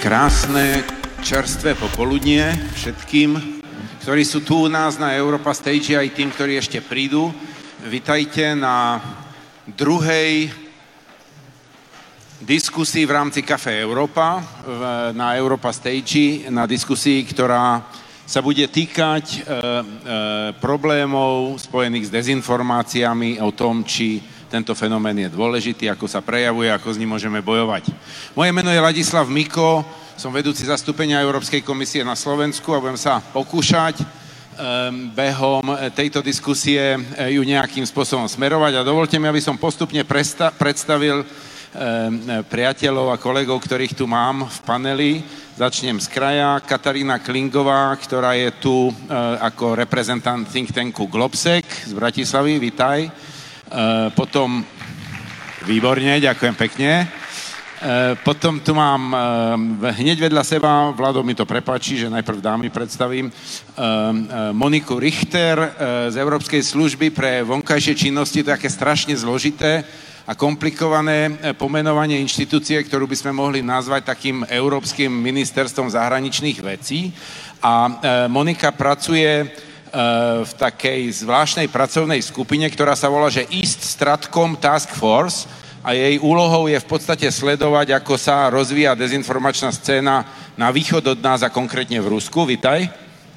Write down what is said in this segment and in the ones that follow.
Krásne, čerstvé popoludnie všetkým, ktorí sú tu u nás na Europa Stage, aj tým, ktorí ešte prídu. Vitajte na druhej diskusii v rámci Café Európa, na Europa Stage, na diskusii, ktorá sa bude týkať problémov spojených s dezinformáciami o tom, či tento fenomén je dôležitý, ako sa prejavuje, ako s ním môžeme bojovať. Moje meno je Ladislav Miko, som vedúci zastúpenia Európskej komisie na Slovensku a budem sa pokúšať behom tejto diskusie ju nejakým spôsobom smerovať. A dovolte mi, aby som postupne predstavil priateľov a kolegov, ktorých tu mám v paneli. Začnem z kraja. Katarína Klingová, ktorá je tu ako reprezentant think tanku Globsec z Bratislavy. Vitaj. Potom, výborne, ďakujem pekne. Potom tu mám hneď vedľa seba, Vlado mi to prepáči, že najprv dámy predstavím, Moniku Richter z Európskej služby pre vonkajšie činnosti. To je také strašne zložité a komplikované pomenovanie inštitúcie, ktorú by sme mohli nazvať takým Európskym ministerstvom zahraničných vecí. A Monika pracuje v takej zvláštnej pracovnej skupine, ktorá sa volá, že East Stratcom Task Force, a jej úlohou je v podstate sledovať, ako sa rozvíja dezinformačná scéna na východ od nás a konkrétne v Rusku. Vitaj.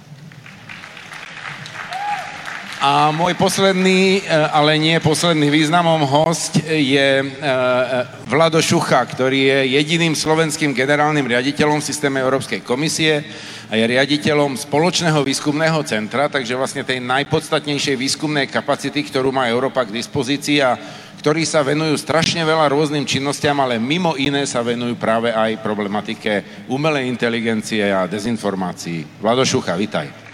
A môj posledný, ale nie posledný významom host je Vlado Šucha, ktorý je jediným slovenským generálnym riaditeľom v systéme Európskej komisie a je riaditeľom spoločného výskumného centra, takže vlastne tej najpodstatnejšej výskumnej kapacity, ktorú má Európa k dispozícii a ktorí sa venujú strašne veľa rôznym činnostiam, ale mimo iné sa venujú práve aj problematike umelej inteligencie a dezinformácií. Vlado Šucha, vitaj.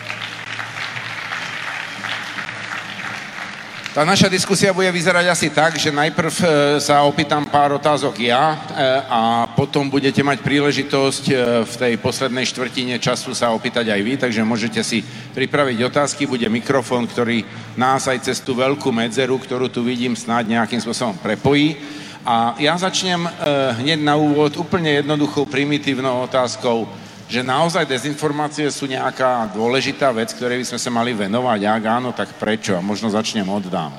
Tá naša diskusia bude vyzerať asi tak, že najprv sa opýtam pár otázok ja a potom budete mať príležitosť v tej poslednej štvrtine času sa opýtať aj vy, takže môžete si pripraviť otázky, bude mikrofón, ktorý nás aj cez tú veľkú medzeru, ktorú tu vidím, snáď nejakým spôsobom prepojí. A ja začnem hneď na úvod úplne jednoduchou, primitívnou otázkou, že naozaj dezinformácie sú nejaká dôležitá vec, ktorej by sme sa mali venovať. Ak áno, tak prečo? A možno začnem od dám.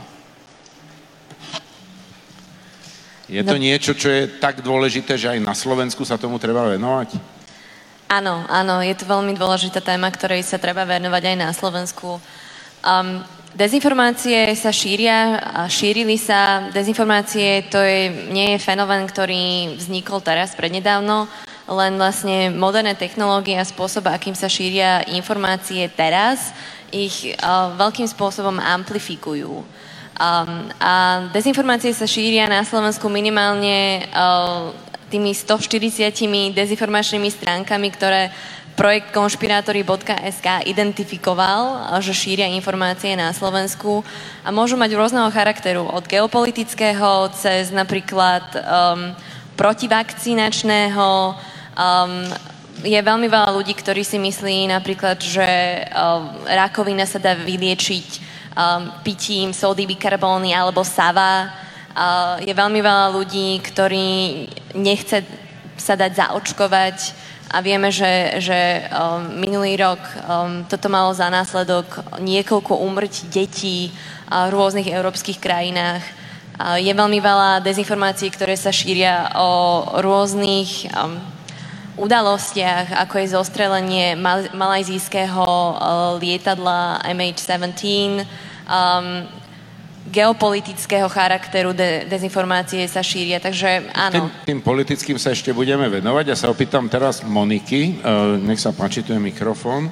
Je to niečo, čo je tak dôležité, že aj na Slovensku sa tomu treba venovať? Áno, je to veľmi dôležitá téma, ktorej sa treba venovať aj na Slovensku. Dezinformácie sa šíria a šírili sa. Dezinformácie nie je fenomén, ktorý vznikol teraz prednedávno, len vlastne moderné technológie a spôsob, akým sa šíria informácie teraz, ich veľkým spôsobom amplifikujú. A dezinformácie sa šíria na Slovensku minimálne tými 140 dezinformačnými stránkami, ktoré projekt konšpirátori.sk identifikoval, že šíria informácie na Slovensku a môžu mať rôzneho charakteru, od geopolitického cez napríklad protivakcinačného. Je veľmi veľa ľudí, ktorí si myslí napríklad, že rakovina sa dá vyliečiť pitím sódy bikarbóny alebo sava. Je veľmi veľa ľudí, ktorí nechce sa dať zaočkovať a vieme, že minulý rok toto malo za následok niekoľko úmrtí detí v rôznych európskych krajinách. Je veľmi veľa dezinformácií, ktoré sa šíria o rôznych udalostiach, ako je zostrelenie malajzijského lietadla MH17, geopolitického charakteru dezinformácie sa šíria, takže áno. Tým politickým sa ešte budeme venovať. Ja sa opýtam teraz Moniky, nech sa páči, tu je mikrofón.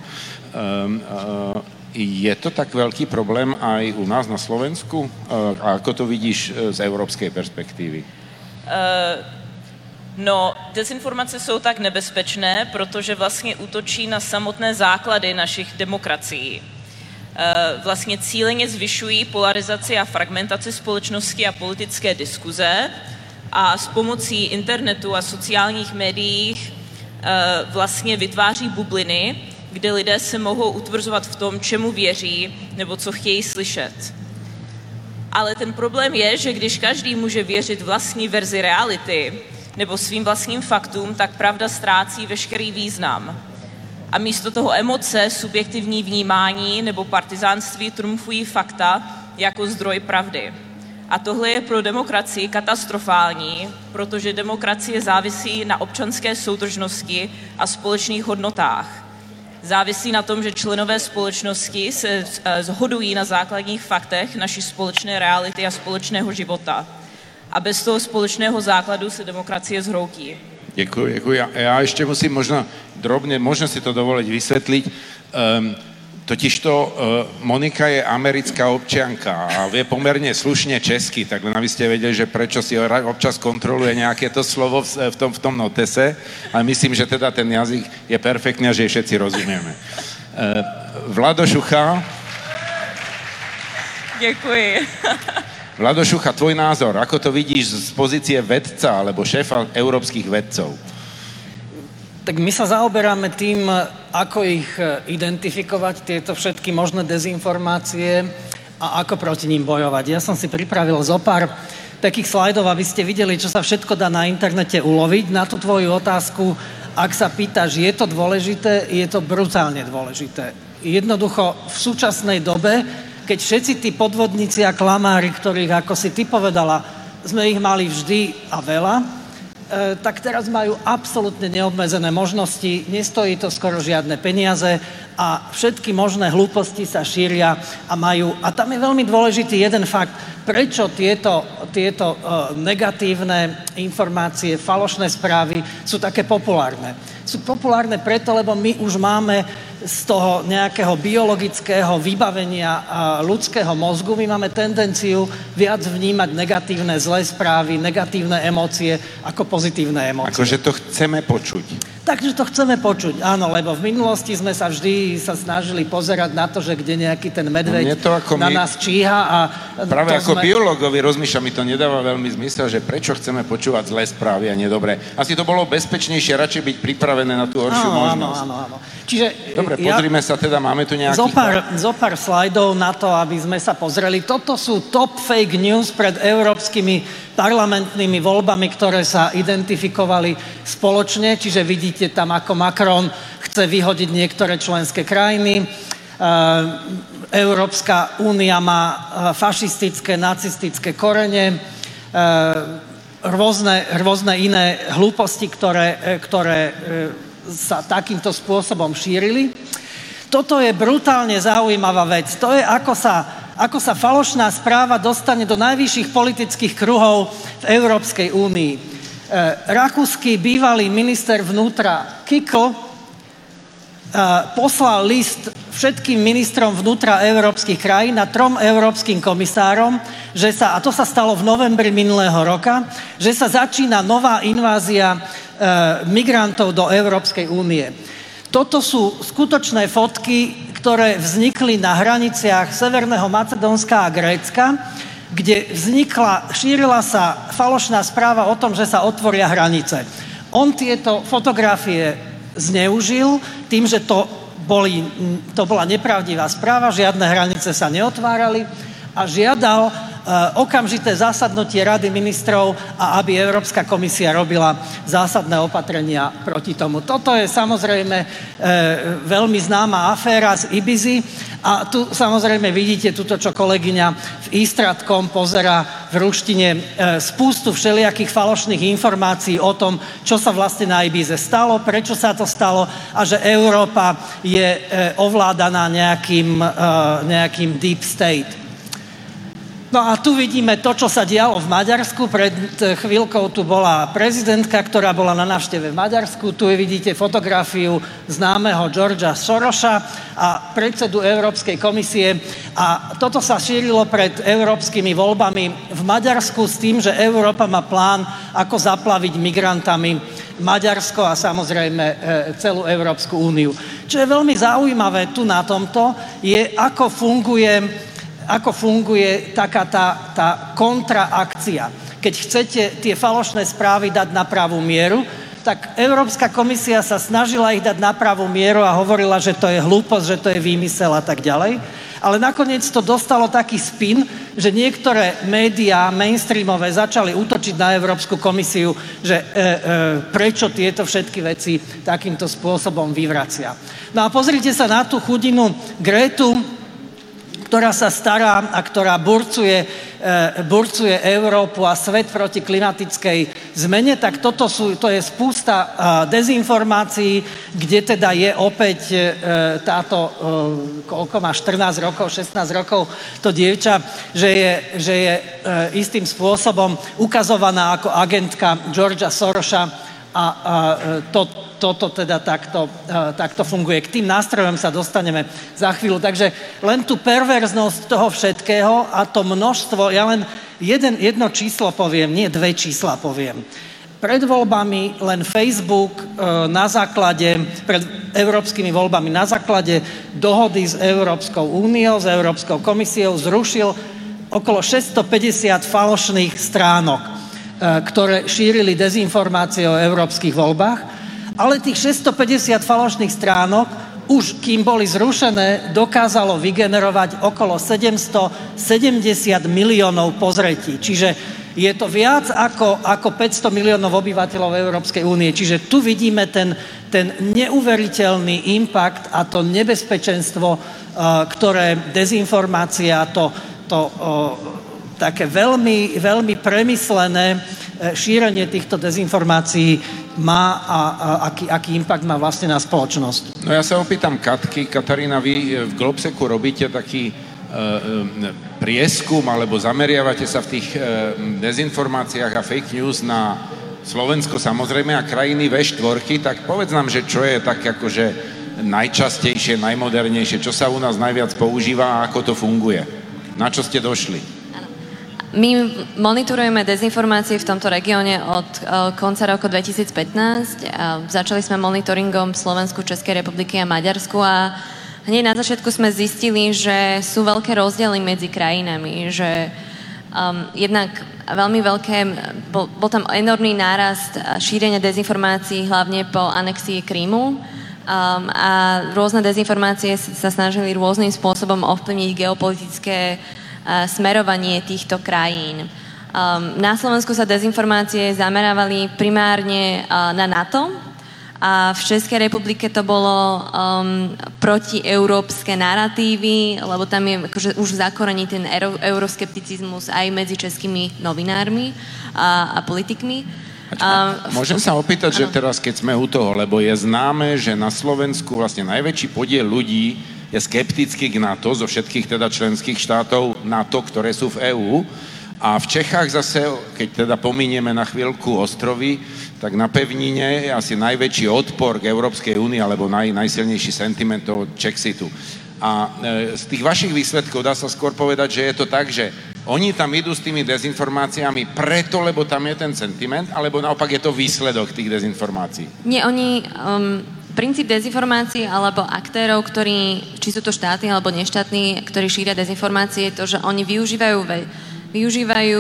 Je to tak veľký problém aj u nás na Slovensku? A ako to vidíš z európskej perspektívy? Dezinformace jsou tak nebezpečné, protože vlastně útočí na samotné základy našich demokracií. Vlastně cíleně zvyšují polarizaci a fragmentaci společnosti a politické diskuze a s pomocí internetu a sociálních médií vlastně vytváří bubliny, kde lidé se mohou utvrzovat v tom, čemu věří nebo co chtějí slyšet. Ale ten problém je, že když každý může věřit vlastní verzi reality, nebo svým vlastním faktům, tak pravda ztrácí veškerý význam. A místo toho emoce, subjektivní vnímání nebo partizánství trumfují fakta jako zdroj pravdy. A tohle je pro demokracii katastrofální, protože demokracie závisí na občanské soudržnosti a společných hodnotách. Závisí na tom, že členové společnosti se shodují na základních faktech naší společné reality a společného života. A bez toho společného základu se demokracie zhroutí. Děkuji. Já ještě musím možno si to dovoliť vysvetliť. Totižto Monika je americká občianka a vie pomerne slušne česky, tak len aby ste vedeli, že prečo si občas kontroluje nejaké to slovo v tom notese, ale myslím, že teda ten jazyk je perfektný a že všetci rozumieme. Vlado Šucha. Děkuji. Vlado Šucha, tvoj názor, ako to vidíš z pozície vedca alebo šéfa európskych vedcov? Tak my sa zaoberáme tým, ako ich identifikovať, tieto všetky možné dezinformácie a ako proti ním bojovať. Ja som si pripravil zo pár takých slajdov, aby ste videli, čo sa všetko dá na internete uloviť. Na tú tvoju otázku, ak sa pýtaš, je to dôležité, je to brutálne dôležité. Jednoducho v súčasnej dobe, keď všetci tí podvodníci a klamári, ktorých, ako si ty povedala, sme ich mali vždy a veľa, tak teraz majú absolútne neobmedzené možnosti, nestojí to skoro žiadne peniaze a všetky možné hlúposti sa šíria a majú. A tam je veľmi dôležitý jeden fakt, prečo tieto negatívne informácie, falošné správy sú také populárne. Sú populárne preto, lebo my už máme z toho nejakého biologického vybavenia ľudského mozgu, my máme tendenciu viac vnímať negatívne, zlé správy, negatívne emócie ako pozitívne emócie. Akože to chceme počuť. Takže to chceme počuť, áno, lebo v minulosti sme sa vždy snažili pozerať na to, že kde nejaký ten medveď na nás číha a... Práve ako biológovi rozmýšľam, mi to nedáva veľmi zmysel, že prečo chceme počúvať zlé správy a nedobré. Asi to bolo bezpečnejšie radšej byť pripravené na tú horšiu možnosť. Áno. Čiže dobre, pozrime sa teda, máme tu nejakých... Zo pár slajdov na to, aby sme sa pozreli. Toto sú top fake news pred európskymi parlamentnými voľbami, ktoré sa identifikovali spoločne, čiže vidíte tam, ako Macron chce vyhodiť niektoré členské krajiny. Európska únia má fašistické, nacistické korene, rôzne iné hlúposti, ktoré sa takýmto spôsobom šírili. Toto je brutálne zaujímavá vec. To je, ako sa falošná správa dostane do najvyšších politických kruhov v Európskej únii. Rakúsky bývalý minister vnútra Kickl poslal list všetkým ministrom vnútra európskych krajín a 3 európskym komisárom, a to sa stalo v novembri minulého roka, že sa začína nová invázia migrantov do Európskej únie. Toto sú skutočné fotky, ktoré vznikli na hraniciach Severného Macedónska a Grécka, kde šírila sa falošná správa o tom, že sa otvoria hranice. On tieto fotografie zneužil tým, že to bola nepravdivá správa, žiadne hranice sa neotvárali a žiadal okamžité zasadnutie Rady ministrov a aby Európska komisia robila zásadné opatrenia proti tomu. Toto je samozrejme veľmi známa aféra z Ibizy a tu samozrejme vidíte túto, čo kolegyňa v Istratkom pozerá v ruštine spústu všelijakých falošných informácií o tom, čo sa vlastne na Ibize stalo, prečo sa to stalo a že Európa je ovládaná nejakým deep state. No a tu vidíme to, čo sa dialo v Maďarsku. Pred chvíľkou tu bola prezidentka, ktorá bola na návšteve v Maďarsku. Tu vidíte fotografiu známeho Georgea Sorosa a predsedu Európskej komisie. A toto sa šírilo pred európskymi voľbami v Maďarsku s tým, že Európa má plán, ako zaplaviť migrantami Maďarsko a samozrejme celú Európsku úniu. Čo je veľmi zaujímavé tu na tomto, je ako funguje taká tá kontraakcia. Keď chcete tie falošné správy dať na pravú mieru, tak Európska komisia sa snažila ich dať na pravú mieru a hovorila, že to je hlúposť, že to je výmysel a tak ďalej. Ale nakoniec to dostalo taký spin, že niektoré médiá mainstreamové začali útočiť na Európsku komisiu, že prečo tieto všetky veci takýmto spôsobom vyvracia. No a pozrite sa na tú chudinu Gretu, ktorá sa stará a ktorá burcuje Európu a svet proti klimatickej zmene, tak to je spústa dezinformácií, kde teda je opäť táto, koľko má, 14 rokov, 16 rokov, to dievča, že je istým spôsobom ukazovaná ako agentka Georgea Sorosa a toto teda takto funguje. K tým nástrojom sa dostaneme za chvíľu. Takže len tú perverznosť toho všetkého a to množstvo, ja len jedno číslo poviem, nie dve čísla poviem. Pred voľbami len Facebook pred európskymi voľbami na základe dohody s Európskou úniou, s Európskou komisiou zrušil okolo 650 falošných stránok, ktoré šírili dezinformácie o európskych voľbách. Ale tých 650 falošných stránok, už kým boli zrušené, dokázalo vygenerovať okolo 770 miliónov pozretí. Čiže je to viac ako 500 miliónov obyvateľov Európskej únie. Čiže tu vidíme ten neuveriteľný impact a to nebezpečenstvo, ktoré dezinformácia, také veľmi, veľmi premyslené šírenie týchto dezinformácií má a aký impact má vlastne na spoločnosť. No ja sa opýtam Katky. Katarína, vy v Globseku robíte taký prieskum, alebo zameriavate sa v tých dezinformáciách a fake news na Slovensko samozrejme a krajiny V4, tak povedz nám, že čo je tak akože najčastejšie, najmodernejšie, čo sa u nás najviac používa a ako to funguje. Na čo ste došli? My monitorujeme dezinformácie v tomto regióne od konca roku 2015. Začali sme monitoringom Slovensku, Českej republiky a Maďarsku a hneď na začiatku sme zistili, že sú veľké rozdiely medzi krajinami, že jednak veľmi veľké, bol tam enormný nárast šírenia dezinformácií hlavne po anexii Krymu a rôzne dezinformácie sa snažili rôznym spôsobom ovplyvniť geopolitické smerovanie týchto krajín. Na Slovensku sa dezinformácie zamerávali primárne na NATO a v Českej republike to bolo protieurópske naratívy, lebo tam je akože už zakorený ten euroskepticizmus aj medzi českými novinármi a politikmi. Môžem sa opýtať, že teraz keď sme u toho, lebo je známe, že na Slovensku vlastne najväčší podiel ľudí je skeptický k NATO zo všetkých teda členských štátov NATO, ktoré sú v EÚ. A v Čechách zase, keď teda pominieme na chvíľku ostrovy, tak na pevnine je asi najväčší odpor k Európskej únii alebo najsilnejší sentiment toho Čexitu. A z tých vašich výsledkov dá sa skôr povedať, že je to tak, že oni tam idú s tými dezinformáciami preto, lebo tam je ten sentiment, alebo naopak je to výsledok tých dezinformácií? Nie, oni... Princíp dezinformácií alebo aktérov, ktorí, či sú to štáty alebo neštátni, ktorí šíria dezinformácie, je to, že oni využívajú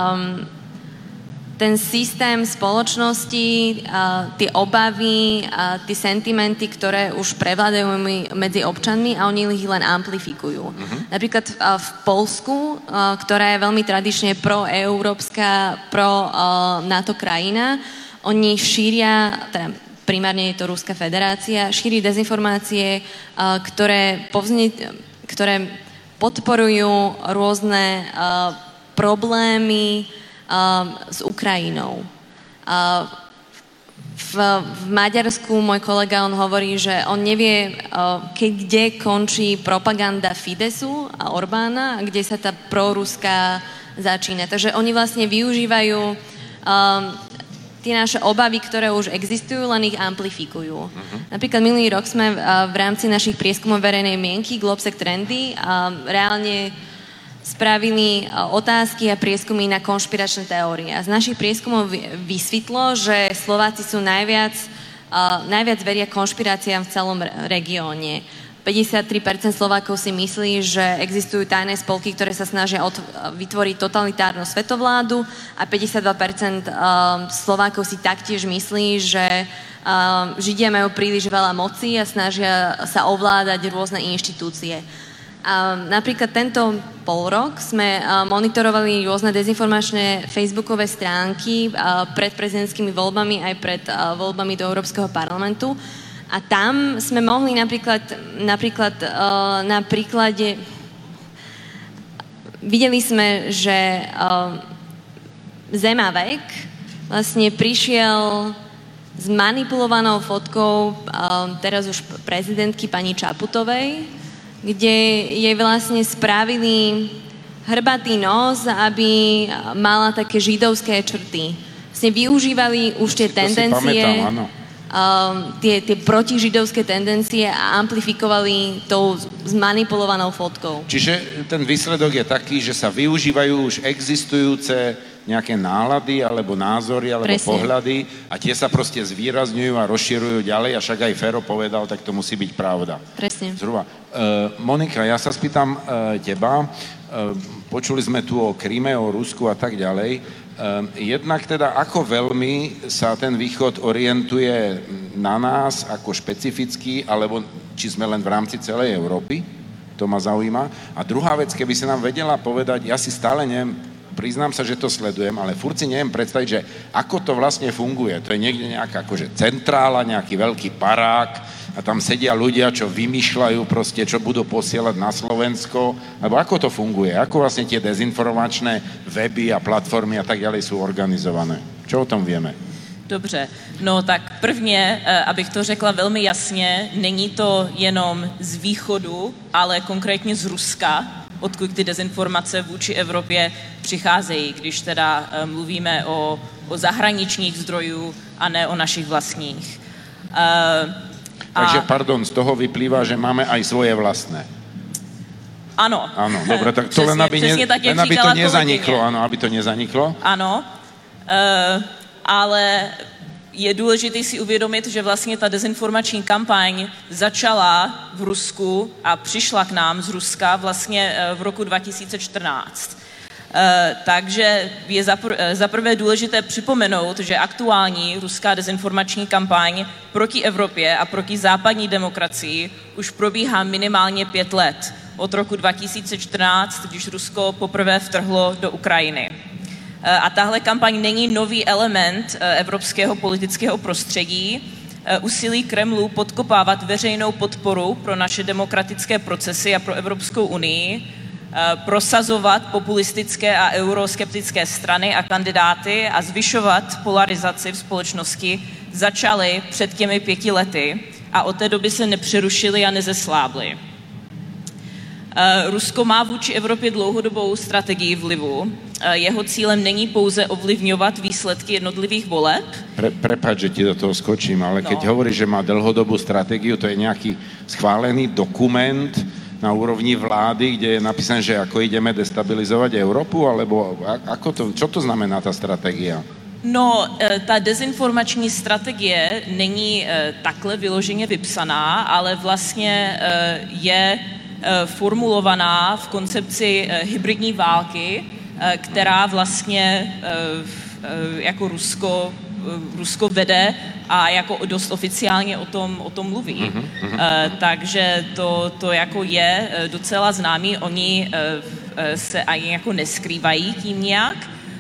ten systém spoločnosti, tie obavy, tie sentimenty, ktoré už prevládajú medzi občanmi a oni ich len amplifikujú. Napríklad v Poľsku, ktorá je veľmi tradične proeurópska, pro-NATO krajina, oni šíria, primárne je to Ruská federácia, šíri dezinformácie, ktoré podporujú rôzne problémy s Ukrajinou. V Maďarsku môj kolega, on hovorí, že on nevie, kde končí propaganda Fidesu a Orbána a kde sa tá proruská začína. Takže oni vlastne využívajú tie naše obavy, ktoré už existujú, len ich amplifikujú. Napríklad minulý rok sme v rámci našich prieskumov verejnej mienky Globsec Trendy reálne spravili otázky a prieskumy na konšpiračné teórie. A z našich prieskumov vysvetlo, že Slováci sú najviac veria konšpiráciám v celom regióne. 53% Slovákov si myslí, že existujú tajné spolky, ktoré sa snažia vytvoriť totalitárnu svetovládu a 52% Slovákov si taktiež myslí, že Židia majú príliš veľa moci a snažia sa ovládať rôzne inštitúcie. A napríklad rok sme monitorovali rôzne dezinformačné facebookové stránky pred prezidentskými voľbami aj pred voľbami do Európskeho parlamentu. A tam sme mohli napríklad na príklade... Videli sme, že Zemavek vlastne prišiel s manipulovanou fotkou teraz už prezidentky pani Čaputovej, kde jej vlastne spravili hrbatý nos, aby mala také židovské črty. Vlastne využívali už tie tendencie, tie protižidovské tendencie a amplifikovali tou zmanipulovanou fotkou. Čiže ten výsledok je taký, že sa využívajú už existujúce nejaké nálady, alebo názory, alebo pohľady a tie sa proste zvýrazňujú a rozširujú ďalej a však aj Fero povedal, tak to musí byť pravda. Presne. Zhruba. Monika, ja sa spýtam teba, počuli sme tu o Kryme, o Rusku a tak ďalej. Jednak teda, ako veľmi sa ten východ orientuje na nás ako špecificky, alebo či sme len v rámci celej Európy? To ma zaujíma. A druhá vec, keby si nám vedela povedať, ja si stále priznám sa, že to sledujem, ale furt si neviem predstaviť, že ako to vlastne funguje. To je niekde nejaká akože centrála, nejaký veľký parák a tam sedia ľudia, čo vymýšľajú proste, čo budú posielať na Slovensko. Alebo ako to funguje? Ako vlastne tie dezinformačné weby a platformy a tak ďalej sú organizované? Čo o tom vieme? Dobře, no tak prvně, abych to řekla velmi jasně, není to jenom z východu, ale konkrétně z Ruska, odkud ty dezinformace vůči Evropě přicházejí, když teda mluvíme o zahraničních zdrojů a ne o našich vlastních. Takže, pardon, z toho vyplývá, že máme aj svoje vlastné. Ano. Áno, dobre, tak to přesně, len aby to nezaniklo, áno, aby to nezaniklo. Ano, ale je důležité si uvědomit, že vlastně ta dezinformační kampaň začala v Rusku a přišla k nám z Ruska vlastně v roku 2014. Takže je zaprvé důležité připomenout, že aktuální ruská dezinformační kampaň proti Evropě a proti západní demokracii už probíhá minimálně 5 let. Od roku 2014, když Rusko poprvé vtrhlo do Ukrajiny. A tahle kampaň není nový element evropského politického prostředí. Úsilí Kremlu podkopávat veřejnou podporu pro naše demokratické procesy a pro Evropskou unii, prosazovat populistické a euroskeptické strany a kandidáty a zvyšovat polarizaci v společnosti začaly před těmi 5 lety a od té doby se nepřerušily a nezeslábly. Rusko má vůči Evropě dlouhodobou strategii vlivu. Jeho cílem není pouze ovlivňovat výsledky jednotlivých voleb. Prepáč, že ti do toho skočím, ale keď hovoríš, že má dlhodobú stratégiu, to je nejaký schválený dokument na úrovni vlády, kde je napísané, že ako ideme destabilizovať Európu, alebo ako to, čo to znamená tá stratégia? No, ta dezinformační strategie není takhle vyloženě vypsaná, ale vlastně je formulovaná v koncepci hybridní války, která vlastně jako Rusko vede a jako dost oficiálně o tom mluví. Takže to jako je docela známý. Oni se ani jako neskrývají tím nějak.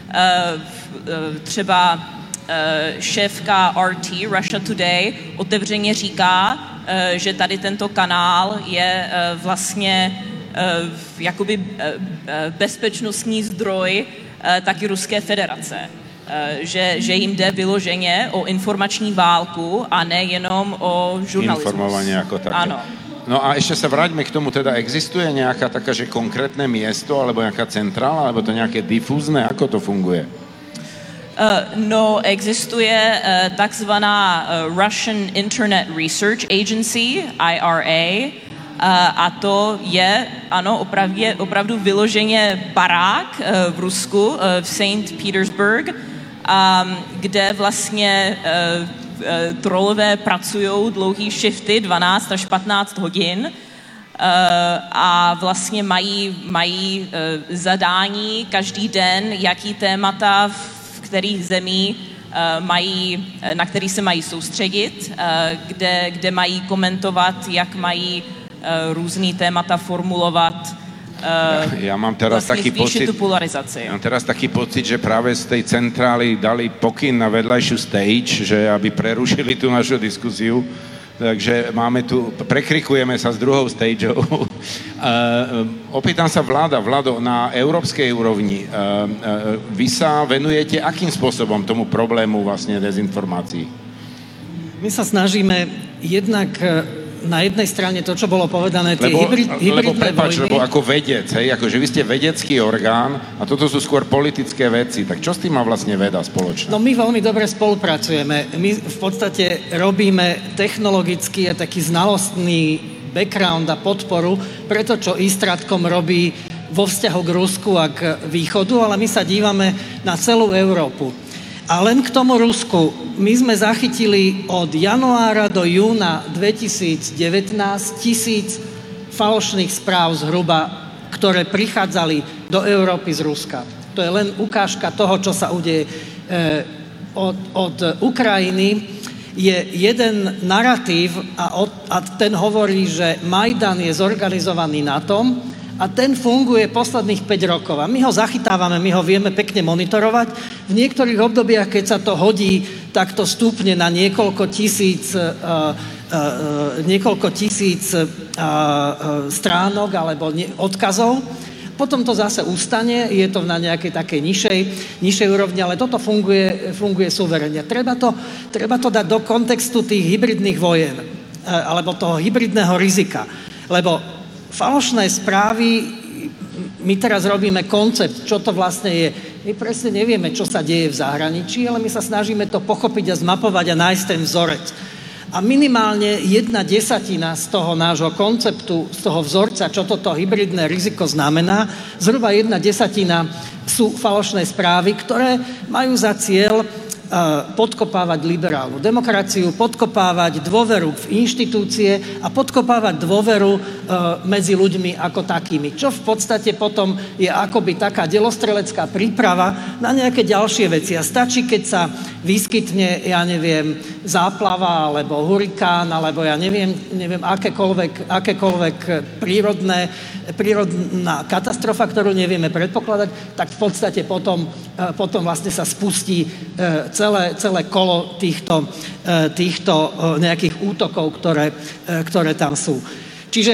Třeba šéfka RT, Russia Today, otevřeně říká, že tady tento kanál je vlastně jakoby bezpečnostní zdroj taky Ruské federace. Že jim jde vyloženě o informační válku a ne jenom o žurnalismus. Informovanie ako také. Áno. No a ešte sa vráťme k tomu, teda existuje nejaká taká, že konkrétne miesto, alebo nejaká centrála, alebo to nejaké difúzne, ako to funguje? No, existuje takzvaná Russian Internet Research Agency, IRA, a to je, ano, opravdu vyloženě barák v Rusku, v St. Petersburg, kde vlastně trolové pracují dlouhý shifty, 12 až 15 hodin, a vlastně mají zadání každý den, jaký témata v kterých zemí na který se mají soustředit, kde mají komentovat, jak mají různý témata formulovat. Ja mám teraz taký pocit, tú polarizaci. Ja mám teraz taký pocit, že práve z tej centrály dali pokyn na vedľajšiu stage, že aby prerušili tú našu diskusiu. Takže prekrikujeme sa s druhou stageou. Opýtam sa Vlado, na európskej úrovni, vy sa venujete akým spôsobom tomu problému vlastne dezinformácií? My sa snažíme jednak na jednej strane to, čo bolo povedané, tie hybridné vojny. Lebo ako vedec, akože vy ste vedecký orgán a toto sú skôr politické veci, tak čo s tým má vlastne veda spoločné? No my veľmi dobre spolupracujeme. My v podstate robíme technologický a taký znalostný background a podporu pre to, čo Istratkom robí vo vzťahu k Rusku a k východu, ale my sa dívame na celú Európu. A len k tomu Rusku. My sme zachytili od januára do júna 2019 1000 falošných správ zhruba, ktoré prichádzali do Európy z Ruska. To je len ukážka toho, čo sa udeje. Od Ukrajiny je jeden naratív a ten hovorí, že Majdan je zorganizovaný na tom, a ten funguje posledných 5 rokov. A my ho zachytávame, my ho vieme pekne monitorovať. V niektorých obdobiach, keď sa to hodí, tak to stúpne na niekoľko tisíc stránok alebo odkazov. Potom to zase ustane, je to na nejakej takej nižšej úrovni, ale toto funguje suverene. Treba to dať do kontextu tých hybridných vojen, alebo toho hybridného rizika. Lebo falošné správy, my teraz robíme koncept, čo to vlastne je. My presne nevieme, čo sa deje v zahraničí, ale my sa snažíme to pochopiť a zmapovať a nájsť ten vzorec. A minimálne 1/10 z toho nášho konceptu, z toho vzorca, čo toto hybridné riziko znamená, zhruba 1/10 sú falošné správy, ktoré majú za cieľ podkopávať liberálnu demokraciu, podkopávať dôveru v inštitúcie a podkopávať dôveru medzi ľuďmi ako takými. Čo v podstate potom je akoby taká delostrelecká príprava na nejaké ďalšie veci. A stačí, keď sa vyskytne, záplava, alebo hurikán, alebo akékoľvek prírodná katastrofa, ktorú nevieme predpokladať, tak v podstate potom vlastne sa spustí celé kolo týchto nejakých útokov, ktoré tam sú. Čiže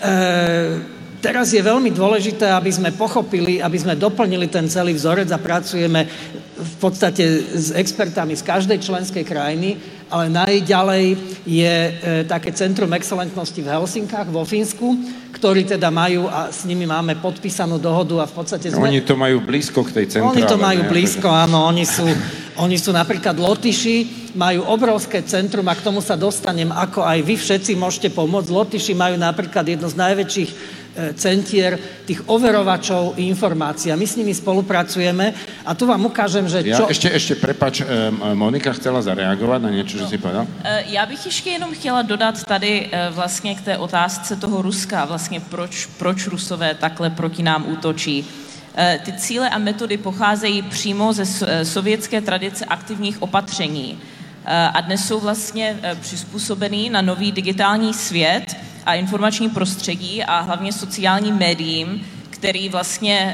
teraz je veľmi dôležité, aby sme pochopili, aby sme doplnili ten celý vzorec a pracujeme v podstate s expertami z každej členskej krajiny, ale najďalej je také Centrum excelentnosti v Helsinkách, vo Fínsku, ktorí teda majú a s nimi máme podpísanú dohodu a v podstate... Oni to majú blízko k tej centrále. Oni to majú blízko, áno. Oni sú napríklad Lotyši, majú obrovské centrum a k tomu sa dostanem, ako aj vy všetci môžete pomôcť. Lotyši majú napríklad jedno z najväčších centier tých overovačov informácií. A my s nimi spolupracujeme a tu vám ukážem, že čo... Ešte prepáč, Monika chcela zareagovat na něco, že si povedal? Já bych ještě jenom chtěla dodat tady vlastně k té otázce toho Ruska, vlastně proč Rusové takhle proti nám útočí. Ty cíle a metody pocházejí přímo ze sovětské tradice aktivních opatření a dnes jsou vlastně přizpůsobený na nový digitální svět a informační prostředí a hlavně sociálním médiím, který vlastně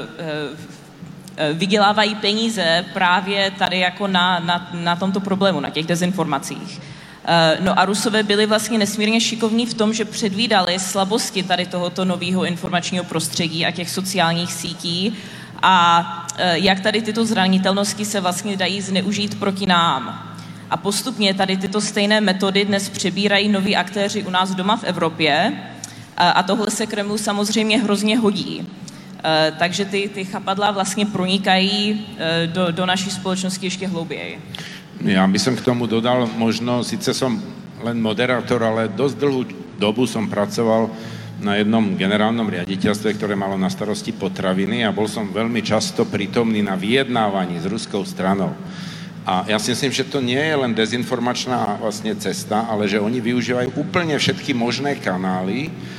vydělávají peníze právě tady jako na tomto problému, na těch dezinformacích. No a Rusové byli vlastně nesmírně šikovní v tom, že předvídali slabosti tady tohoto nového informačního prostředí a těch sociálních sítí a jak tady tyto zranitelnosti se vlastně dají zneužít proti nám. A postupně tady tyto stejné metody dnes přebírají noví aktéři u nás doma v Evropě a tohle se Kremlu samozřejmě hrozně hodí. Takže ty chapadla vlastně pronikají do naší společnosti ještě hlouběji. Ja by som k tomu dodal možno, síce som len moderátor, ale dosť dlhú dobu som pracoval na jednom generálnom riaditeľstve, ktoré malo na starosti potraviny a bol som veľmi často prítomný na vyjednávaní s ruskou stranou. A ja si myslím, že to nie je len dezinformačná vlastne cesta, ale že oni využívajú úplne všetky možné kanály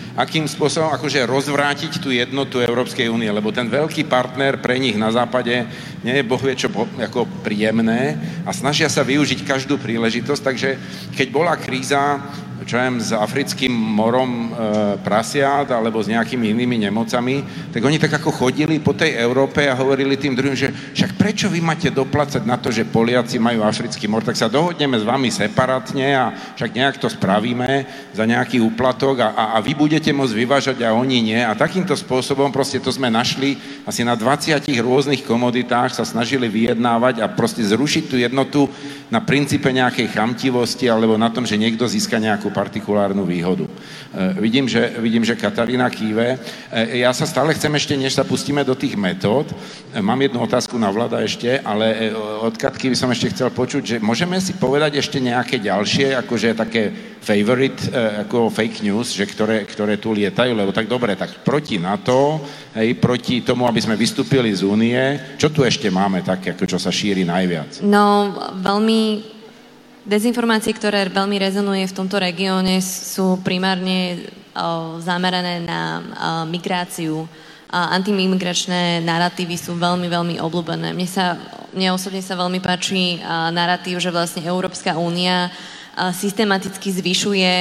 akým spôsobom akože rozvrátiť tú jednotu Európskej únie, lebo ten veľký partner pre nich na západe nie je bohvie čo ako príjemné a snažia sa využiť každú príležitosť, takže keď bola kríza, čo viem, s africkým morom prasiat alebo s nejakými inými nemocami, tak oni tak ako chodili po tej Európe a hovorili tým druhým, že však prečo vy máte doplácať na to, že Poliaci majú africký mor, tak sa dohodneme s vami separátne a však nejak to spravíme za nejaký úplatok a vy budete môcť vyvážať a oni nie. A takýmto spôsobom proste to sme našli asi na 20 rôznych komoditách, sa snažili vyjednávať a proste zrušiť tú jednotu na princípe nejakej chamtivosti alebo na tom, že niekto získa nejakú partikulárnu výhodu. Vidím, že Katarína kýve. Ja sa stále chcem ešte, než sa pustíme do tých metód, mám jednu otázku na Vlada ešte, ale od Katky by som ešte chcel počuť, že môžeme si povedať ešte nejaké ďalšie, akože také favorite, ako fake news, že ktoré tu lietajú, lebo tak dobre, tak proti NATO, proti tomu, aby sme vystúpili z Únie, čo tu ešte máme také, ako čo sa šíri najviac? No, dezinformácie, ktoré veľmi rezonuje v tomto regióne, sú primárne zamerané na migráciu. Antimigračné naratívy sú veľmi, veľmi obľúbené. Mne osobne sa veľmi páči naratív, že vlastne Európska únia systematicky zvyšuje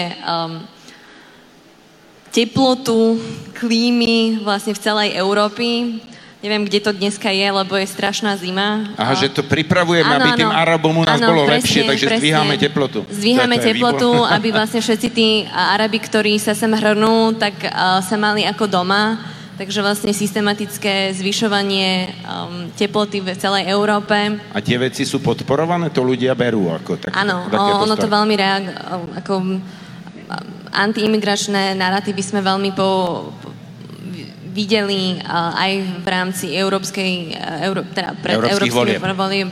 teplotu, klímy vlastne v celej Európy. Neviem, kde to dneska je, lebo je strašná zima. Aha, že to pripravujeme, aby tým Arabom u nás bolo lepšie, takže zdvíhame teplotu. Zdvíhame teplotu, aby vlastne všetci tí Arabi, ktorí sa sem hrnú, tak sa mali ako doma. Takže vlastne systematické zvyšovanie teploty v celej Európe. A tie veci sú podporované? To ľudia berú ako také? Áno, ono to veľmi ako antiimigračné naratívy sme veľmi videli aj v rámci európskych volieb.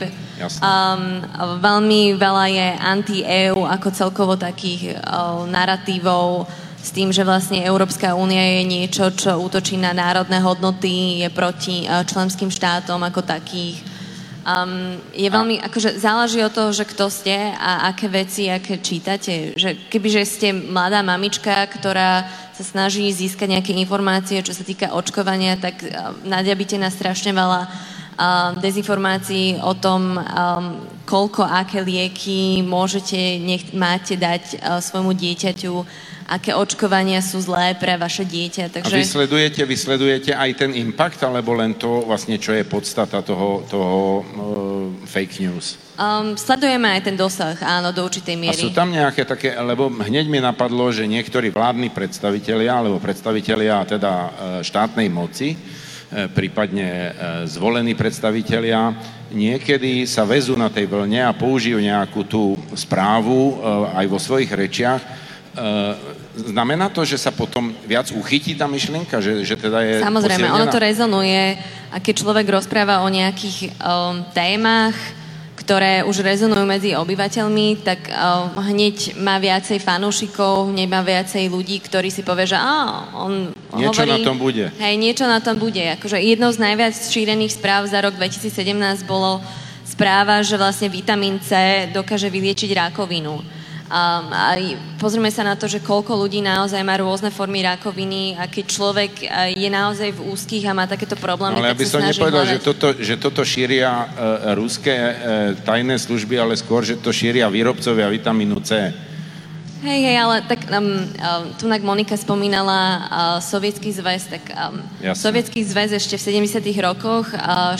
Veľmi veľa je anti-EU ako celkovo takých naratívov s tým, že vlastne Európska únia je niečo, čo útočí na národné hodnoty, je proti členským štátom ako takých. Je veľmi, akože záleží od toho, že kto ste a aké veci, aké čítate. Že kebyže ste mladá mamička, ktorá sa snaží získať nejaké informácie, čo sa týka očkovania, tak nadjabíte na strašne veľa dezinformácií o tom, koľko, aké lieky máte dať svojmu dieťaťu, aké očkovania sú zlé pre vaše dieťa. Takže... A vysledujete aj ten impact, alebo len to vlastne, čo je podstata toho fake news? Sledujeme aj ten dosah, áno, do určitej miery. A sú tam nejaké také, lebo hneď mi napadlo, že niektorí vládni predstavitelia, alebo predstavitelia teda štátnej moci, prípadne zvolení predstavitelia, niekedy sa vezú na tej vlne a použijú nejakú tú správu aj vo svojich rečiach. Znamená to, že sa potom viac uchytí tá myšlienka, že teda je Samozrejme, posilnená? Ono to rezonuje a keď človek rozpráva o nejakých témach, ktoré už rezonujú medzi obyvateľmi, tak hneď má viacej fanúšikov, hneď má viacej ľudí, ktorí si povie, že on niečo hovorí... na tom bude. Hej, niečo na tom bude. Akože jednou z najviac šírených správ za rok 2017 bolo správa, že vlastne vitamín C dokáže vyliečiť rakovinu. A pozrieme sa na to, že koľko ľudí naozaj má rôzne formy rakoviny a keď človek je naozaj v úzkých a má takéto problémy, ale tak ja by som nepovedal, že toto šíria ruské tajné služby, ale skôr, že to šíria výrobcovia vitamínu C. Hej, ale tak tunak Monika spomínala Sovietský zväz, tak Sovietský zväz ešte v 70. rokoch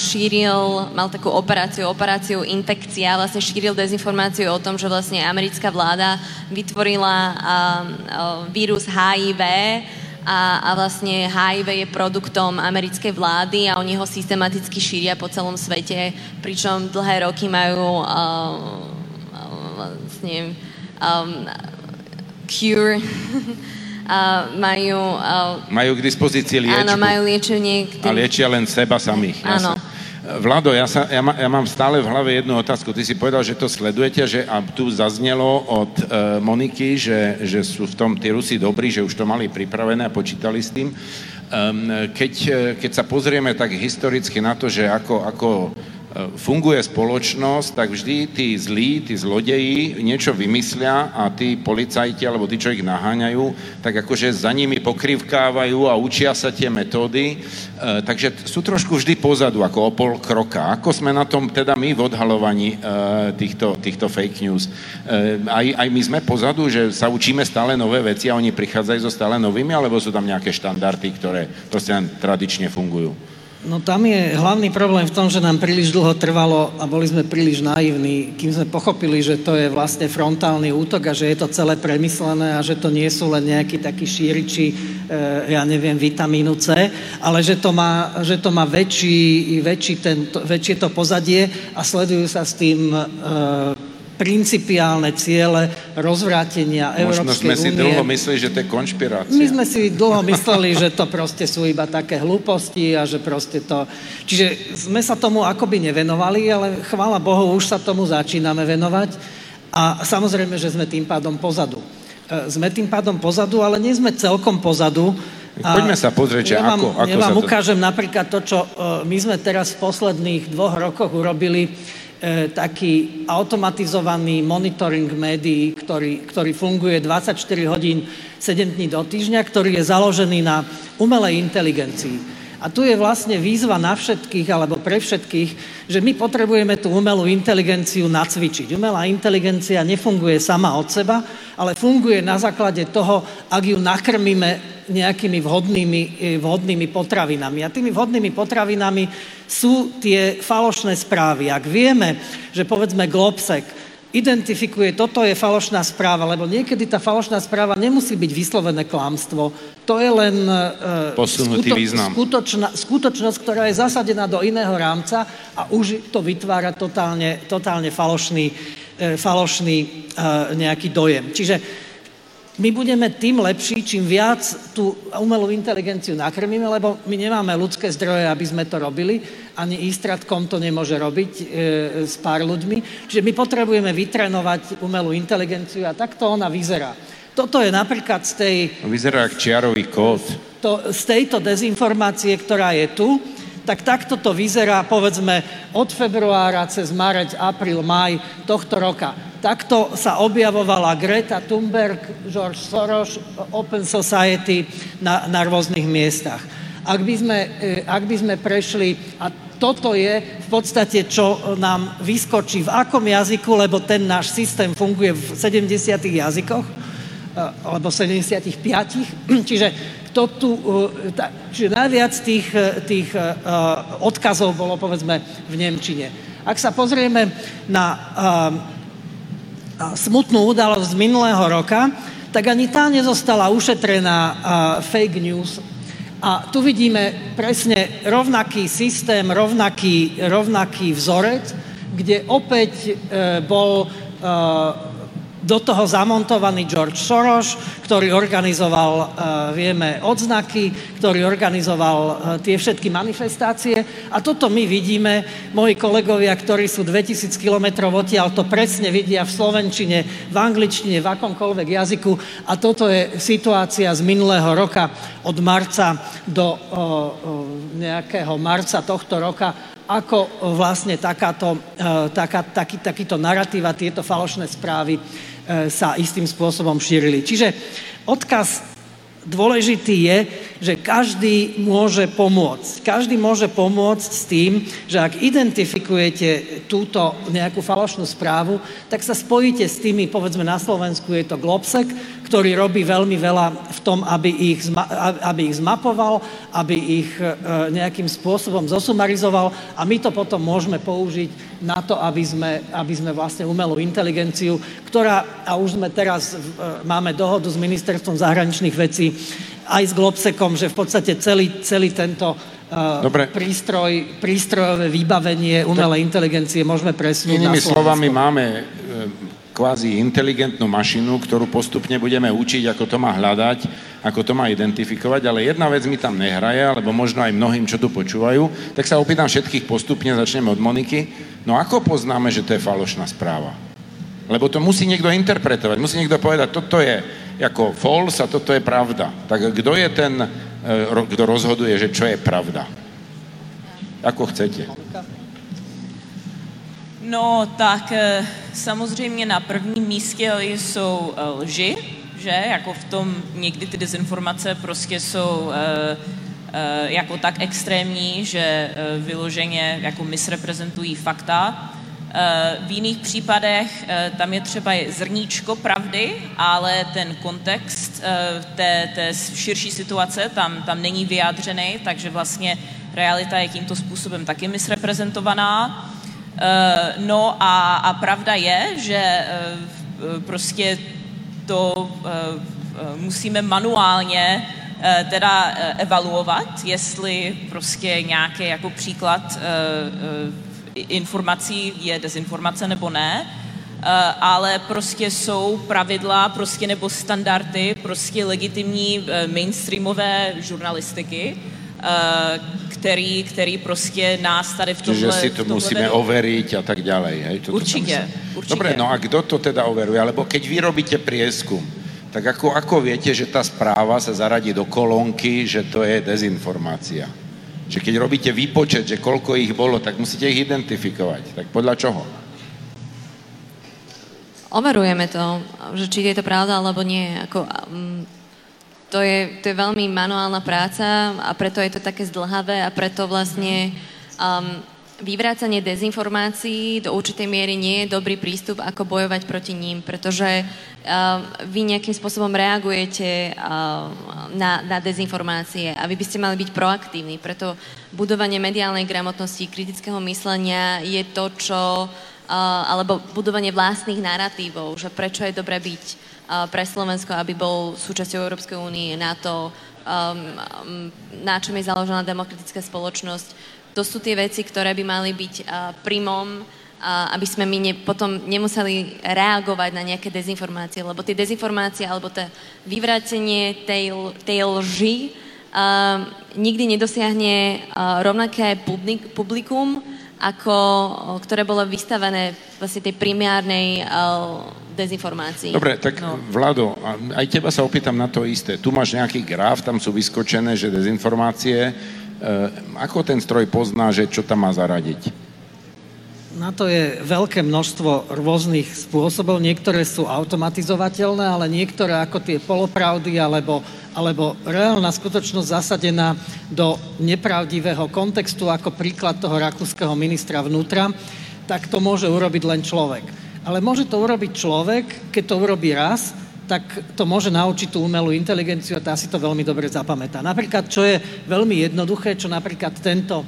mal takú operáciu infekcia, vlastne šíril dezinformáciu o tom, že vlastne americká vláda vytvorila vírus HIV a vlastne HIV je produktom americkej vlády a oni ho systematicky šíria po celom svete, pričom dlhé roky majú vlastne cure. Majú k dispozícii liečbu. Áno, majú liečenie. A liečia len seba samých. Áno. Vlado, ja mám stále v hlave jednu otázku. Ty si povedal, že to sledujete, a tu zaznelo od Moniky, že sú v tom tí Rusi dobrí, že už to mali pripravené a počítali s tým. Keď sa pozrieme tak historicky na to, že ako funguje spoločnosť, tak vždy tí zlí, tí zlodeji niečo vymyslia a tí policajti, alebo tí, čo ich naháňajú, tak akože za nimi pokrivkávajú a učia sa tie metódy. Takže sú trošku vždy pozadu, ako o pol kroka. Ako sme na tom teda my v odhalovaní týchto fake news? Aj my sme pozadu, že sa učíme stále nové veci a oni prichádzajú so stále novými, alebo sú tam nejaké štandardy, ktoré proste tradične fungujú? No tam je hlavný problém v tom, že nám príliš dlho trvalo a boli sme príliš naivní, kým sme pochopili, že to je vlastne frontálny útok a že je to celé premyslené a že to nie sú len nejakí takí šíriči, ja neviem, vitamínu C, ale že to má väčšie to pozadie a sledujú sa s tým principiálne ciele rozvrátenia Európskej únie. Možno sme si dlho mysleli, že to je konšpirácia. My sme si dlho mysleli, že to proste sú iba také hlúposti a že proste to... Čiže sme sa tomu akoby nevenovali, ale chvála Bohu, už sa tomu začíname venovať a samozrejme, že sme tým pádom pozadu. Ale nie sme celkom pozadu. Poďme sa pozrieť, ako ja vám ukážem napríklad to, čo my sme teraz v posledných 2 rokoch urobili, taký automatizovaný monitoring médií, ktorý funguje 24 hodín 7 dní do týždňa, ktorý je založený na umelej inteligencii. A tu je vlastne výzva na všetkých, alebo pre všetkých, že my potrebujeme tú umelú inteligenciu nacvičiť. Umelá inteligencia nefunguje sama od seba, ale funguje na základe toho, ak ju nakrmíme nejakými vhodnými potravinami. A tými vhodnými potravinami sú tie falošné správy. Ak vieme, že povedzme Globsec identifikuje, toto je falošná správa, lebo niekedy tá falošná správa nemusí byť vyslovené klamstvo. To je len skutočnosť, ktorá je zasadená do iného rámca a už to vytvára totálne falošný nejaký dojem. Čiže my budeme tým lepší, čím viac tú umelú inteligenciu nakrmíme, lebo my nemáme ľudské zdroje, aby sme to robili, ani Istratkom to nemôže robiť s pár ľuďmi. Čiže my potrebujeme vytrénovať umelú inteligenciu a takto ona vyzerá. Toto je napríklad z tej... Vyzerá ako čiarový kód. Z tejto dezinformácie, ktorá je tu, tak takto to vyzerá, povedzme, od februára cez marec, apríl, maj tohto roka. Takto sa objavovala Greta Thunberg, George Soros, Open Society na rôznych miestach. Ak by sme prešli, a toto je v podstate, čo nám vyskočí v akom jazyku, lebo ten náš systém funguje v 70 jazykoch, alebo 75, čiže najviac tých odkazov bolo, povedzme, v nemčine. Ak sa pozrieme na smutnú udalosť z minulého roka, tak ani tá nezostala ušetrená fake news. A tu vidíme presne rovnaký systém, rovnaký vzorec, kde opäť bol do toho zamontovaný George Soros, ktorý organizoval, vieme, odznaky, ktorý organizoval tie všetky manifestácie. A toto my vidíme, moji kolegovia, ktorí sú 2000 kilometrov odtiaľ, to presne vidia v slovenčine, v angličtine, v akomkoľvek jazyku. A toto je situácia z minulého roka, od marca do nejakého marca tohto roka, ako vlastne takýto narratív a tieto falošné správy sa istým spôsobom šírili. Čiže odkaz dôležitý je, že každý môže pomôcť. Každý môže pomôcť s tým, že ak identifikujete túto nejakú falošnú správu, tak sa spojíte s tými, povedzme na Slovensku je to Globsec, ktorý robí veľmi veľa v tom, aby ich zmapoval, aby ich nejakým spôsobom zosumarizoval a my to potom môžeme použiť na to, aby sme vlastne umelú inteligenciu, ktorá, a už sme teraz, máme dohodu s Ministerstvom zahraničných vecí, aj s Globsecom, že v podstate celý tento prístrojové vybavenie umelej inteligencie môžeme presunúť na Slovensko. Inými slovami máme kvázi inteligentnú mašinu, ktorú postupne budeme učiť, ako to má hľadať, ako to má identifikovať, ale jedna vec mi tam nehraje, alebo možno aj mnohým, čo tu počúvajú, tak sa opýtam všetkých postupne, začneme od Moniky. No ako poznáme, že to je falošná správa? Lebo to musí niekto interpretovať, musí niekto povedať, toto je ako false a toto je pravda. Tak kto je ten, kto rozhoduje, že čo je pravda? Ako chcete. No, tak samozřejmě na prvním místě jsou lži, že? Jako v tom někdy ty dezinformace prostě jsou jako tak extrémní, že vyloženě jako misreprezentují fakta. V jiných případech tam je třeba zrníčko pravdy, ale ten kontext té širší situace tam není vyjádřený, takže vlastně realita je tímto způsobem taky misreprezentovaná. No a pravda je, že prostě to musíme manuálně teda evaluovat, jestli prostě nějaký jako příklad informací je dezinformace nebo ne, ale prostě jsou pravidla prostě nebo standardy prostě legitimní mainstreamové žurnalistiky, který prostě nás tady v tomhle... Čiže si to musíme overiť a tak ďalej, hej? Určite. Dobre, no a kto to teda overuje? Alebo keď vy robíte prieskum, tak ako viete, že tá správa sa zaradí do kolónky, že to je dezinformácia? Že keď robíte výpočet, že koľko ich bolo, tak musíte ich identifikovať. Tak podľa čoho? Overujeme to, že či je to pravda, alebo nie. To je veľmi manuálna práca a preto je to také zdĺhavé a preto vlastne vyvrácanie dezinformácií do určitej miery nie je dobrý prístup, ako bojovať proti ním, pretože vy nejakým spôsobom reagujete na dezinformácie a vy by ste mali byť proaktívni. Preto budovanie mediálnej gramotnosti, kritického myslenia je to, čo... alebo budovanie vlastných naratívov, že prečo je dobré byť pre Slovensko, aby bol súčasťou Európskej únie, NATO, na čom je založená demokratická spoločnosť. To sú tie veci, ktoré by mali byť primom, aby sme my potom nemuseli reagovať na nejaké dezinformácie, lebo tie dezinformácie alebo to vyvrátenie tej lži nikdy nedosiahne rovnaké publikum, ktoré bolo vystavené vlastne tej primárnej dezinformácii. Dobre, tak Vlado, aj teba sa opýtam na to isté. Tu máš nejaký graf, tam sú vyskočené, že dezinformácie. Ako ten stroj pozná, že čo tam má zaradiť? Na to je veľké množstvo rôznych spôsobov. Niektoré sú automatizovateľné, ale niektoré ako tie polopravdy alebo reálna skutočnosť zasadená do nepravdivého kontextu, ako príklad toho rakúskeho ministra vnútra, tak to môže urobiť len človek. Ale môže to urobiť človek, keď to urobí raz, tak to môže naučiť tú umelú inteligenciu a tá si to veľmi dobre zapamätá. Napríklad, čo je veľmi jednoduché, čo napríklad tento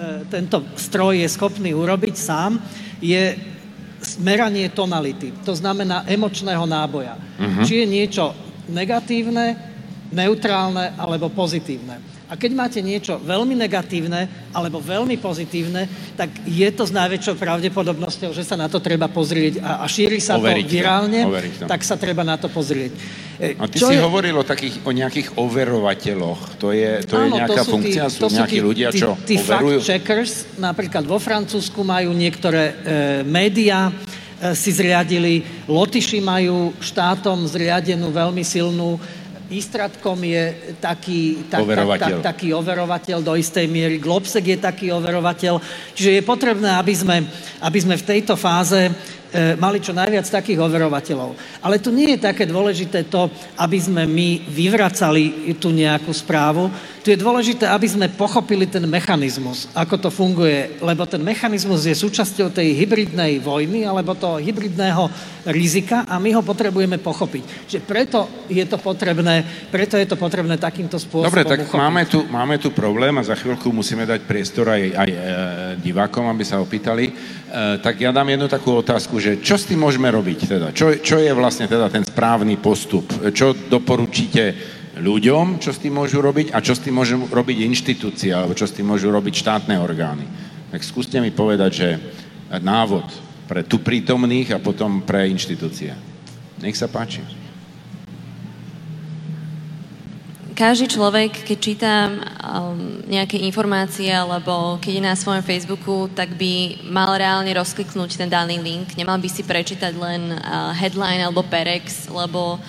stroj je schopný urobiť sám, je meranie tonality. To znamená emočného náboja. Či je niečo negatívne, neutrálne alebo pozitívne. A keď máte niečo veľmi negatívne alebo veľmi pozitívne, tak je to s najväčšou pravdepodobnosťou, že sa na to treba pozrieť a šíri sa to virálne, tak sa treba na to pozrieť. A ty si hovoril o nejakých overovateľoch. To je nejaká funkcia? Sú nejakí ľudia, čo overujú? Tí fact-checkers, napríklad vo Francúzsku majú niektoré médiá, si zriadili, Lotyši majú štátom zriadenú veľmi silnú. Istratkom je taký overovateľ do istej miery, Globsek je taký overovateľ. Čiže je potrebné, aby sme v tejto fáze mali čo najviac takých overovateľov. Ale tu nie je také dôležité to, aby sme my vyvracali tú nejakú správu. Tu je dôležité, aby sme pochopili ten mechanizmus, ako to funguje, lebo ten mechanizmus je súčasťou tej hybridnej vojny alebo toho hybridného rizika a my ho potrebujeme pochopiť. Že preto je to potrebné takýmto spôsobom Dobre, tak uchopiť. máme tu problém a za chvíľku musíme dať priestor aj divákom, aby sa opýtali. Tak ja dám jednu takú otázku, že čo s tým môžeme robiť teda? Čo je vlastne teda ten správny postup? Čo doporučíte ľuďom, čo s tým môžu robiť a čo s tým môžu robiť inštitúcie alebo čo s tým môžu robiť štátne orgány? Tak skúste mi povedať, že návod pre tu prítomných a potom pre inštitúcie. Nech sa páči. Každý človek, keď číta nejaké informácie alebo keď je na svojom Facebooku, tak by mal reálne rozkliknúť ten daný link. Nemal by si prečítať len headline alebo perex, lebo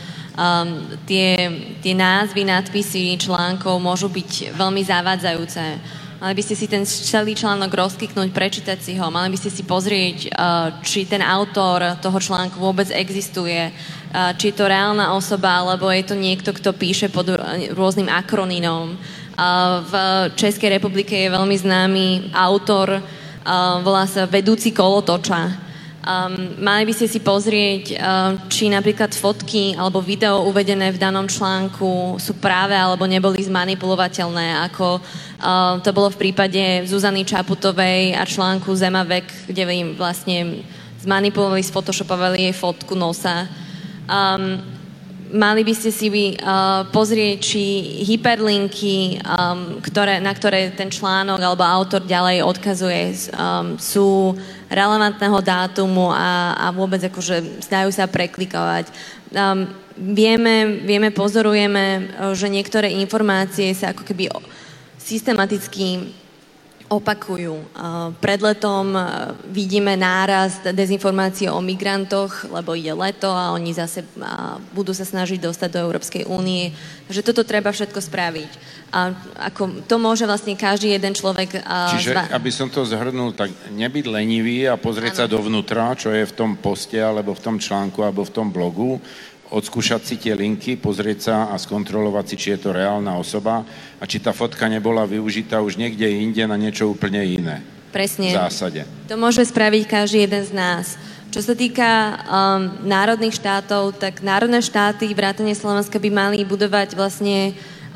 tie názvy, nadpisy článkov môžu byť veľmi zavádzajúce. Mali by ste si ten celý článok rozkliknúť, prečítať si ho, mali by ste si pozrieť, či ten autor toho článku vôbec existuje, či je to reálna osoba, alebo je to niekto, kto píše pod rôznym akronymom. V Českej republike je veľmi známy autor, volá sa Vedúci kolotoča. Mali by ste si pozrieť, či napríklad fotky alebo video uvedené v danom článku sú práve alebo neboli zmanipulovateľné, ako to bolo v prípade Zuzany Čaputovej a článku Zemavek, kde im vlastne zmanipulovali, sfotoshopovali jej fotku nosa. Mali by ste si pozrieť, či hyperlinky, na ktoré ten článok alebo autor ďalej odkazuje, sú relevantného dátumu a vôbec akože dajú sa preklikovať. Vieme, pozorujeme, že niektoré informácie sa ako keby systematicky opakujú. Pred letom vidíme nárast dezinformácií o migrantoch, lebo ide leto a oni zase budú sa snažiť dostať do Európskej únie. Takže toto treba všetko spraviť. A ako to môže vlastne každý jeden človek... Čiže, aby som to zhrnul, tak nebyť lenivý a pozrieť sa dovnútra, čo je v tom poste, alebo v tom článku, alebo v tom blogu, odskúšať si tie linky, pozrieť sa a skontrolovať si, či je to reálna osoba a či tá fotka nebola využitá už niekde inde na niečo úplne iné. Presne. V zásade. To môže spraviť každý jeden z nás. Čo sa týka národných štátov, tak národné štáty vrátane Slovenska by mali budovať vlastne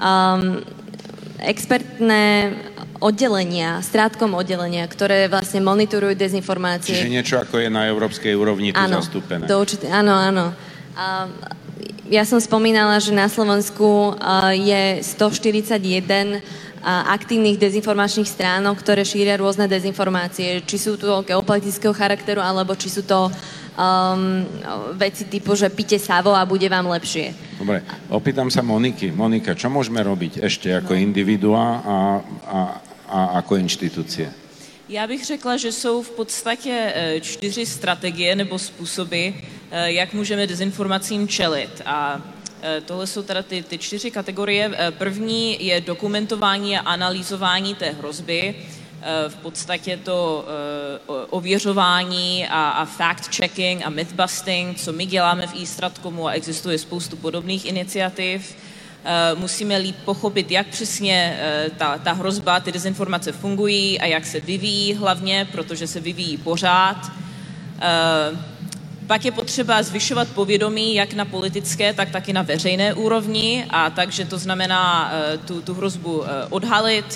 expertné oddelenia, strátkom oddelenia, ktoré vlastne monitorujú dezinformácie. Čiže niečo ako je na európskej úrovni tu zastúpené. Áno. Ja som spomínala, že na Slovensku je 141 aktívnych dezinformačných stránok, ktoré šíria rôzne dezinformácie. Či sú to geopolitického charakteru, alebo či sú to veci typu, že pite savo a bude vám lepšie. Dobre, opýtam sa Moniky. Monika, čo môžeme robiť ešte ako individuá a ako inštitúcie? Já bych řekla, že jsou v podstatě 4 strategie nebo způsoby, jak můžeme dezinformacím čelit. A tohle jsou teda ty 4 kategorie. První je dokumentování a analyzování té hrozby. V podstatě to ověřování a fact-checking a myth-busting, co my děláme v eStratcomu, a existuje spoustu podobných iniciativ. Musíme líp pochopit, jak přesně ta hrozba, ty dezinformace fungují a jak se vyvíjí hlavně, protože se vyvíjí pořád. Pak je potřeba zvyšovat povědomí jak na politické, tak taky na veřejné úrovni, a takže to znamená tu hrozbu odhalit,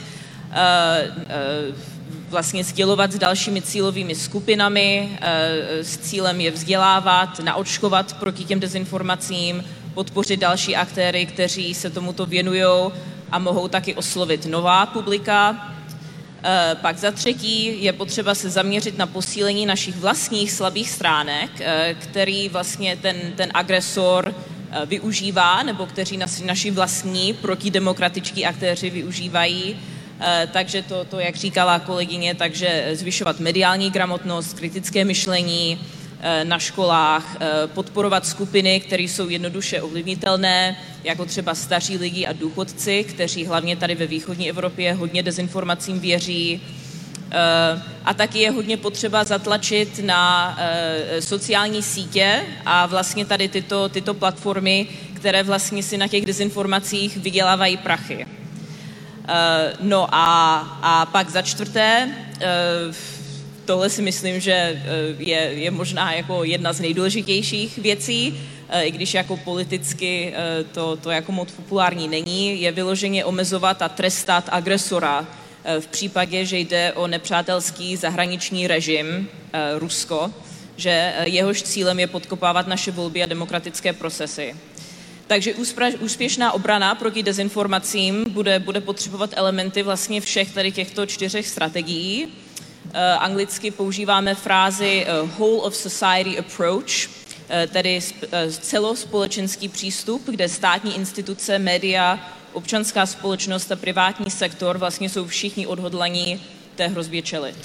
vlastně sdělovat s dalšími cílovými skupinami s cílem je vzdělávat, naočkovat proti těm dezinformacím, podpořit další aktéry, kteří se tomuto věnují a mohou taky oslovit nová publika. Pak za třetí je potřeba se zaměřit na posílení našich vlastních slabých stránek, který vlastně ten agresor využívá, nebo kteří naši vlastní protidemokratičtí aktéři využívají. Takže to, jak říkala kolegyně, takže zvyšovat mediální gramotnost, kritické myšlení na školách, podporovat skupiny, které jsou jednoduše ovlivnitelné, jako třeba staří lidi a důchodci, kteří hlavně tady ve východní Evropě hodně dezinformacím věří. A taky je hodně potřeba zatlačit na sociální sítě a vlastně tady tyto platformy, které vlastně si na těch dezinformacích vydělávají prachy. No a pak za čtvrté, tohle si myslím, že je možná jako jedna z nejdůležitějších věcí, i když jako politicky to jako moc populární není, je vyloženě omezovat a trestat agresora v případě, že jde o nepřátelský zahraniční režim Rusko, že jehož cílem je podkopávat naše volby a demokratické procesy. Takže úspěšná obrana proti dezinformacím bude potřebovat elementy vlastně všech tady těchto 4 strategií. Anglicky používáme frázi whole of society approach, tedy celospolečenský přístup, kde státní instituce, média, občanská společnost a privátní sektor vlastně jsou všichni odhodlaní té hrozbě čelit.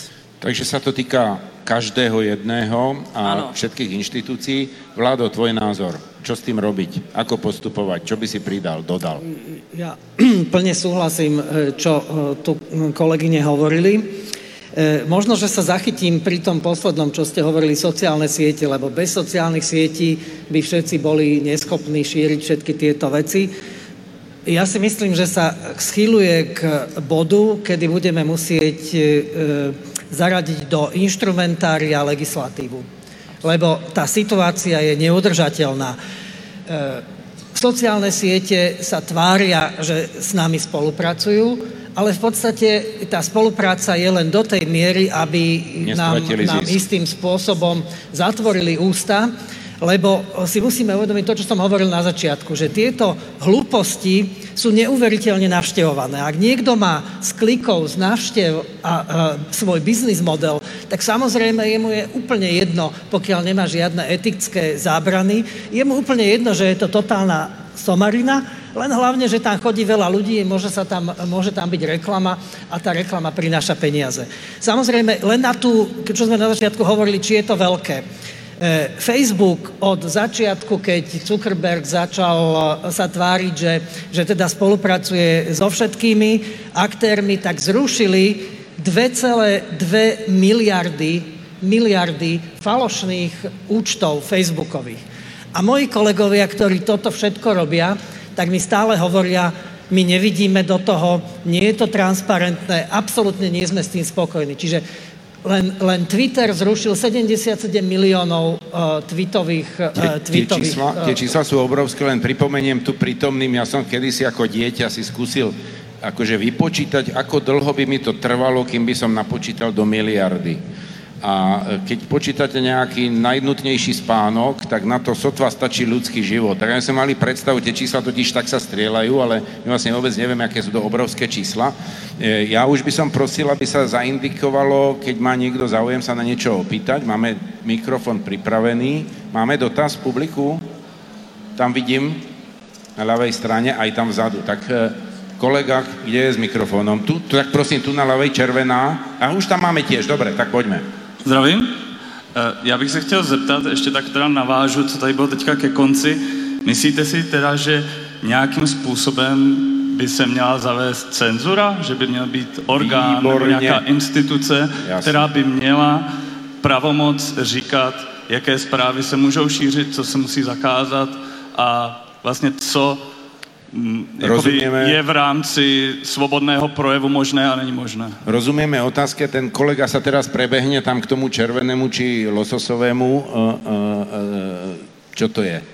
Takže sa to týka každého jedného a všetkých inštitúcií. Vládo, tvoj názor. Čo s tým robiť? Ako postupovať? Čo by si pridal, dodal? Ja plne súhlasím, čo tu kolegyne hovorili. Možno, že sa zachytím pri tom poslednom, čo ste hovorili, sociálne siete, lebo bez sociálnych sietí by všetci boli neschopní šíriť všetky tieto veci. Ja si myslím, že sa schýľuje k bodu, kedy budeme musieť zaradiť do inštrumentária legislatívu. Lebo tá situácia je neudržateľná. Sociálne siete sa tvária, že s nami spolupracujú, ale v podstate tá spolupráca je len do tej miery, aby nám istým spôsobom zatvorili ústa, lebo si musíme uvedomiť to, čo som hovoril na začiatku, že tieto hlúposti sú neuveriteľne navštevované. Ak niekto má z klikov, z návštev a svoj biznis model, tak samozrejme jemu je úplne jedno, pokiaľ nemá žiadne etické zábrany, je mu úplne jedno, že je to totálna somarina, len hlavne, že tam chodí veľa ľudí, môže tam byť reklama a tá reklama prináša peniaze. Samozrejme, len na tú, čo sme na začiatku hovorili, či je to veľké. Facebook od začiatku, keď Zuckerberg začal sa tváriť, že teda spolupracuje so všetkými aktérmi, tak zrušili 2,2 miliardy falošných účtov facebookových. A moji kolegovia, ktorí toto všetko robia, tak mi stále hovoria, my nevidíme do toho, nie je to transparentné, absolútne nie sme s tým spokojní. Čiže len Twitter zrušil 77 miliónov tweetových... Tie čísla sú obrovské, len pripomeniem tu prítomným, ja som kedysi ako dieťa si skúsil akože vypočítať, ako dlho by mi to trvalo, kým by som napočítal do miliardy. A keď počítate nejaký najnutnejší spánok, tak na to sotva stačí ľudský život. Tak my sme mali predstavu, tie čísla totiž tak sa strieľajú, ale my vlastne vôbec nevieme, aké sú to obrovské čísla. Ja už by som prosil, aby sa zaindikovalo, keď má niekto záujem sa na niečo opýtať. Máme mikrofón pripravený. Máme dotaz publiku? Tam vidím, na ľavej strane, aj tam vzadu. Tak kolega, kde je s mikrofónom? Tu, tak prosím, tu na ľavej červená. A už tam máme tiež, dobre, tak poďme. Zdravím. Já bych se chtěl zeptat, ještě tak teda navážu, co tady bylo teďka ke konci. Myslíte si teda, že nějakým způsobem by se měla zavést cenzura? Že by měl být orgán nebo nějaká instituce, která by měla pravomoc říkat, jaké zprávy se můžou šířit, co se musí zakázat a vlastně co je v rámci svobodného projevu možné a není možné. Rozumieme otázke, ten kolega sa teraz prebehne tam k tomu červenému či lososovému. Čo to je?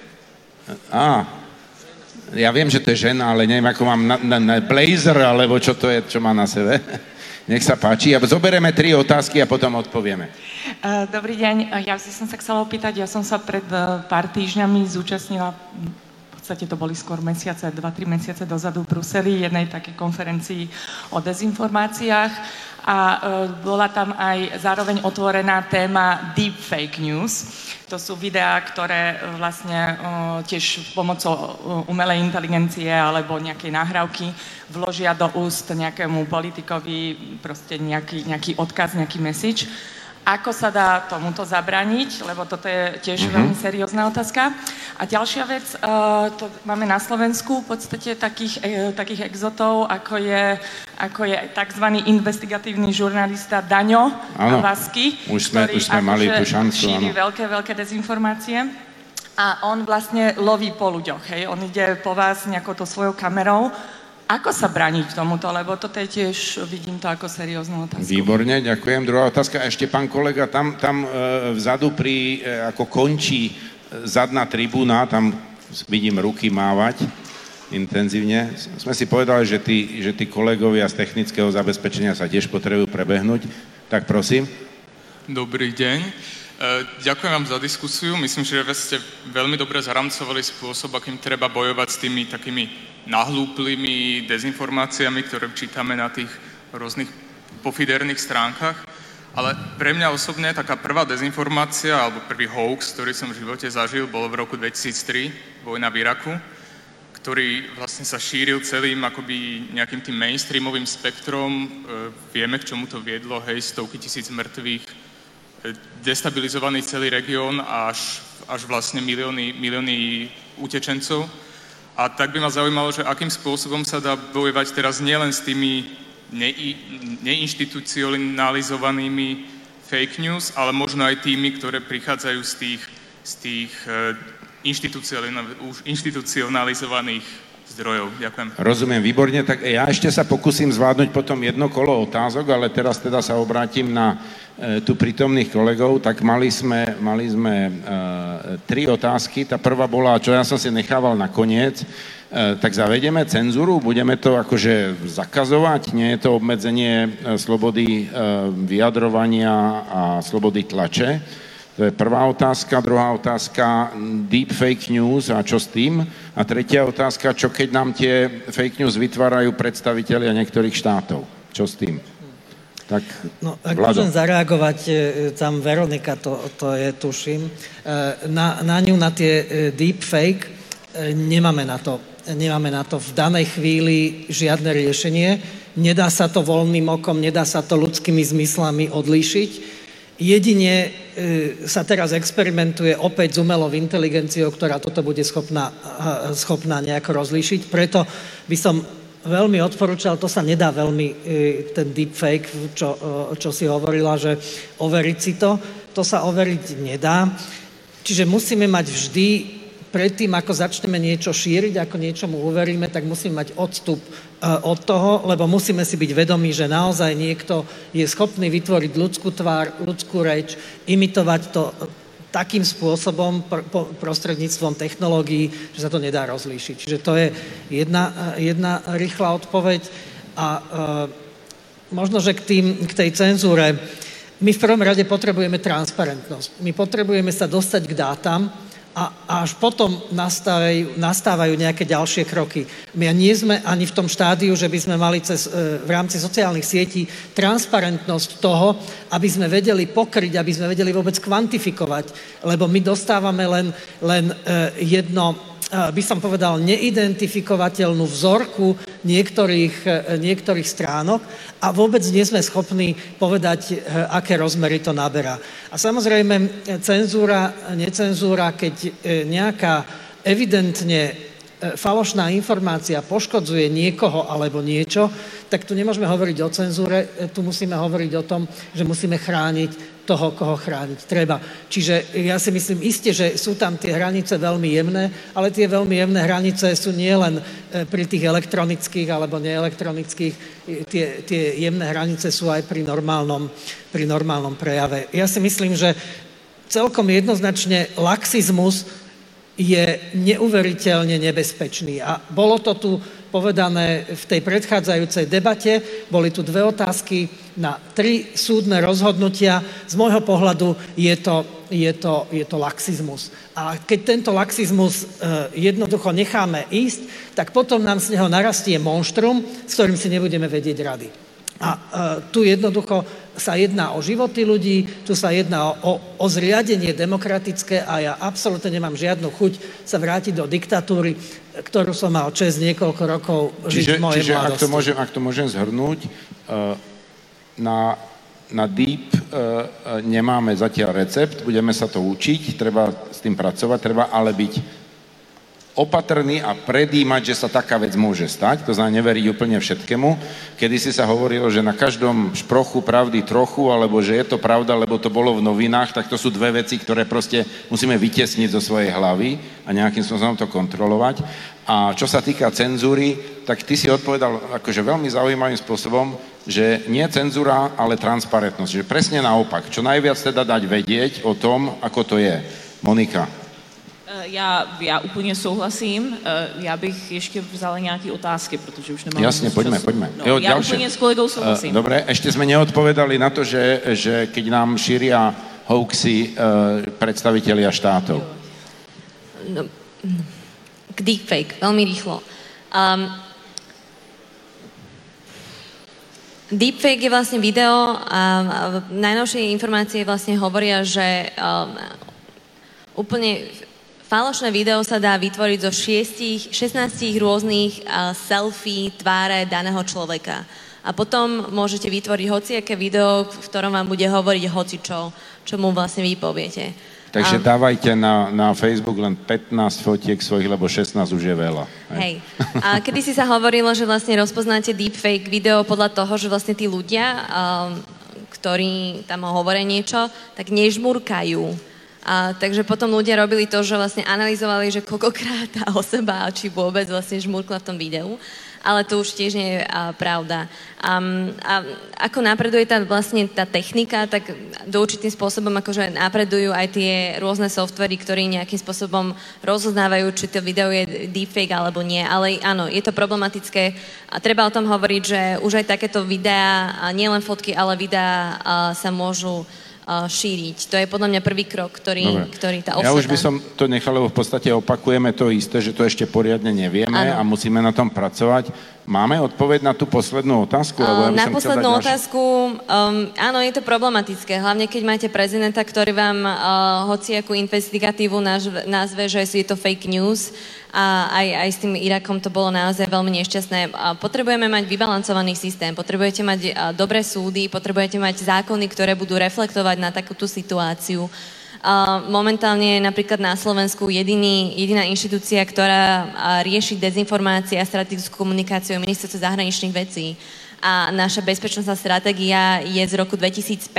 Ja viem, že to je žena, ale neviem, ako mám na blazer, alebo čo to je, čo má na sebe. Nech sa páči. A zoberieme 3 otázky a potom odpovieme. Dobrý deň. Ja som sa chcela opýtať, ja som sa pred pár týždňami zúčastnila, v podstate to boli skôr mesiace, 2-3 mesiace dozadu v Bruseli, jednej takej konferencii o dezinformáciách a bola tam aj zároveň otvorená téma deep fake news. To sú videá, ktoré vlastne tiež pomocou umelej inteligencie alebo nejakej nahrávky vložia do úst nejakému politikovi proste nejaký odkaz, nejaký message. Ako sa dá tomuto zabraniť, lebo toto je tiež veľmi seriózna otázka. A ďalšia vec, to máme na Slovensku v podstate takých exotov, ako je tzv. Investigatívny žurnalista Daňo Vasky, ktorý šíri veľké dezinformácie. A on vlastne loví po ľuďoch, hej? On ide po vás nejakou to svojou kamerou. Ako sa brániť tomuto, lebo toto je tiež, vidím to ako serióznu otázku. Výborne, ďakujem. Druhá otázka, ešte pán kolega, tam vzadu ako končí zadná tribúna, tam vidím ruky mávať intenzívne. Sme si povedali, že tí kolegovia z technického zabezpečenia sa tiež potrebujú prebehnúť. Tak prosím. Dobrý deň. Ďakujem vám za diskusiu. Myslím, že ste veľmi dobre zaramcovali spôsob, akým treba bojovať s tými takými nahlúplými dezinformáciami, ktoré čítame na tých rôznych pofiderných stránkach. Ale pre mňa osobne taká prvá dezinformácia, alebo prvý hoax, ktorý som v živote zažil, bol v roku 2003, vojna v Iraku, ktorý vlastne sa šíril celým akoby nejakým tým mainstreamovým spektrom. Vieme, k čomu to viedlo, hej, stovky tisíc mŕtvych, destabilizovaný celý región a až vlastne milióny utečencov. A tak by ma zaujímalo, že akým spôsobom sa dá bojovať teraz nielen s tými neinštitucionalizovanými fake news, ale možno aj tými, ktoré prichádzajú z tých inštitucionalizovaných zdrojov. Ďakujem. Rozumiem, výborne. Tak ja ešte sa pokúsim zvládnuť potom jedno kolo otázok, ale teraz teda sa obrátim na tu prítomných kolegov. Tak mali sme 3 otázky. Tá prvá bola, čo ja som si nechával nakoniec, tak zavedeme cenzúru, budeme to akože zakazovať, nie je to obmedzenie slobody vyjadrovania a slobody tlače. To je prvá otázka. Druhá otázka, deep fake news a čo s tým? A tretia otázka, čo keď nám tie fake news vytvárajú predstavitelia niektorých štátov? Čo s tým? Tak, no, ak môžem zareagovať, tam Veronika to je, tuším, na ňu, na tie deep fake, nemáme na to v danej chvíli žiadne riešenie. Nedá sa to voľným okom, nedá sa to ľudskými zmyslami odlíšiť. Jedine sa teraz experimentuje opäť s umelou inteligenciou, ktorá toto bude schopná nejako rozlíšiť. Preto by som veľmi odporúčal, to sa nedá veľmi, ten deepfake, čo si hovorila, že overiť si to sa overiť nedá. Čiže musíme mať vždy, predtým, ako začneme niečo šíriť, ako niečomu uveríme, tak musíme mať odstup od toho, lebo musíme si byť vedomí, že naozaj niekto je schopný vytvoriť ľudskú tvár, ľudskú reč, imitovať to takým spôsobom prostredníctvom technológií, že sa to nedá rozlíšiť. Čiže to je jedna rýchla odpoveď. A možno, že k tej cenzúre, my v prvom rade potrebujeme transparentnosť. My potrebujeme sa dostať k dátam a až potom nastávajú nejaké ďalšie kroky. My nie sme ani v tom štádiu, že by sme mali v rámci sociálnych sietí transparentnosť toho, aby sme vedeli pokryť, aby sme vedeli vôbec kvantifikovať, lebo my dostávame len jedno, by som povedal, neidentifikovateľnú vzorku niektorých stránok a vôbec nie sme schopní povedať, aké rozmery to naberá. A samozrejme, cenzúra, necenzúra, keď nejaká evidentne falošná informácia poškodzuje niekoho alebo niečo, tak tu nemôžeme hovoriť o cenzúre, tu musíme hovoriť o tom, že musíme chrániť toho, koho chrániť treba. Čiže ja si myslím iste, že sú tam tie hranice veľmi jemné, ale tie veľmi jemné hranice sú nielen pri tých elektronických alebo neelektronických, tie jemné hranice sú aj pri normálnom prejave. Ja si myslím, že celkom jednoznačne laxizmus je neuveriteľne nebezpečný. A bolo to tu povedané v tej predchádzajúcej debate, boli tu 2 otázky na 3 súdne rozhodnutia. Z môjho pohľadu je to laxizmus. A keď tento laxizmus jednoducho necháme ísť, tak potom nám z neho narastie monštrum, s ktorým si nebudeme vedieť rady. A tu jednoducho sa jedná o životy ľudí, tu sa jedná o zriadenie demokratické a ja absolútne nemám žiadnu chuť sa vrátiť do diktatúry, ktorú som mal čest niekoľko rokov žiť v mojej mladosti. Čiže ak to môžem zhrnúť, na deep nemáme zatiaľ recept, budeme sa to učiť, treba s tým pracovať, treba ale byť opatrný a predímať, že sa taká vec môže stať, to znamená neveriť úplne všetkému. Kedysi sa hovorilo, že na každom šprochu pravdy trochu, alebo že je to pravda, lebo to bolo v novinách, tak to sú 2 veci, ktoré proste musíme vytiesniť zo svojej hlavy a nejakým spôsobom to kontrolovať. A čo sa týka cenzúry, tak ty si odpovedal akože veľmi zaujímavým spôsobom, že nie cenzúra, ale transparentnosť. Že presne naopak. Čo najviac teda dať vedieť o tom, ako to je. Monika. Já úplně souhlasím. Já bych ještě vzala nějaké otázky, protože už nemám Jasne, poďme. No, ja úplne s kolegou souhlasím. Dobre, ešte sme neodpovedali na to, že keď nám šíria hoaxy predstavitelia štátov. No, k deepfake, veľmi rýchlo. Deepfake je vlastne video a najnovšie informácie vlastne hovoria, že úplne Falošné video sa dá vytvoriť zo 16 rôznych selfie tváre daného človeka. A potom môžete vytvoriť hociaké video, v ktorom vám bude hovoriť hocičo, čo mu vlastne vy poviete. Takže dávajte na Facebook len 15 fotiek svojich, lebo 16 už je veľa. Hej. A kedysi sa hovorilo, že vlastne rozpoznáte deepfake video podľa toho, že vlastne tí ľudia, ktorí tam hovoria niečo, tak nežmurkajú. Takže potom ľudia robili to, že vlastne analyzovali, že koľkokrát tá osoba, či vôbec vlastne žmurkla v tom videu. Ale to už tiež nie je pravda. A ako napreduje vlastne tá technika, tak do určitým spôsobom akože napredujú aj tie rôzne softvery, ktorí nejakým spôsobom rozoznávajú, či to video je deepfake alebo nie. Ale áno, je to problematické a treba o tom hovoriť, že už aj takéto videá, nielen fotky, ale videá sa môžu šíriť. To je podľa mňa prvý krok, ktorý tá osveta... Ja už by som to nechal, lebo v podstate opakujeme to isté, že to ešte poriadne nevieme a musíme na tom pracovať. Máme odpoveď na tú poslednú otázku? Na poslednú otázku, áno, je to problematické. Hlavne, keď máte prezidenta, ktorý vám hociakú investigatívu nazve, že je to fake news. A aj s tým Irakom to bolo naozaj veľmi nešťastné. Potrebujeme mať vybalancovaný systém, potrebujete mať dobré súdy, potrebujete mať zákony, ktoré budú reflektovať na takúto situáciu. Momentálne napríklad na Slovensku jediná inštitúcia, ktorá rieši dezinformácie a strategickú komunikáciu je Ministerstvo zahraničných vecí. A naša bezpečnostná stratégia je z roku 2005,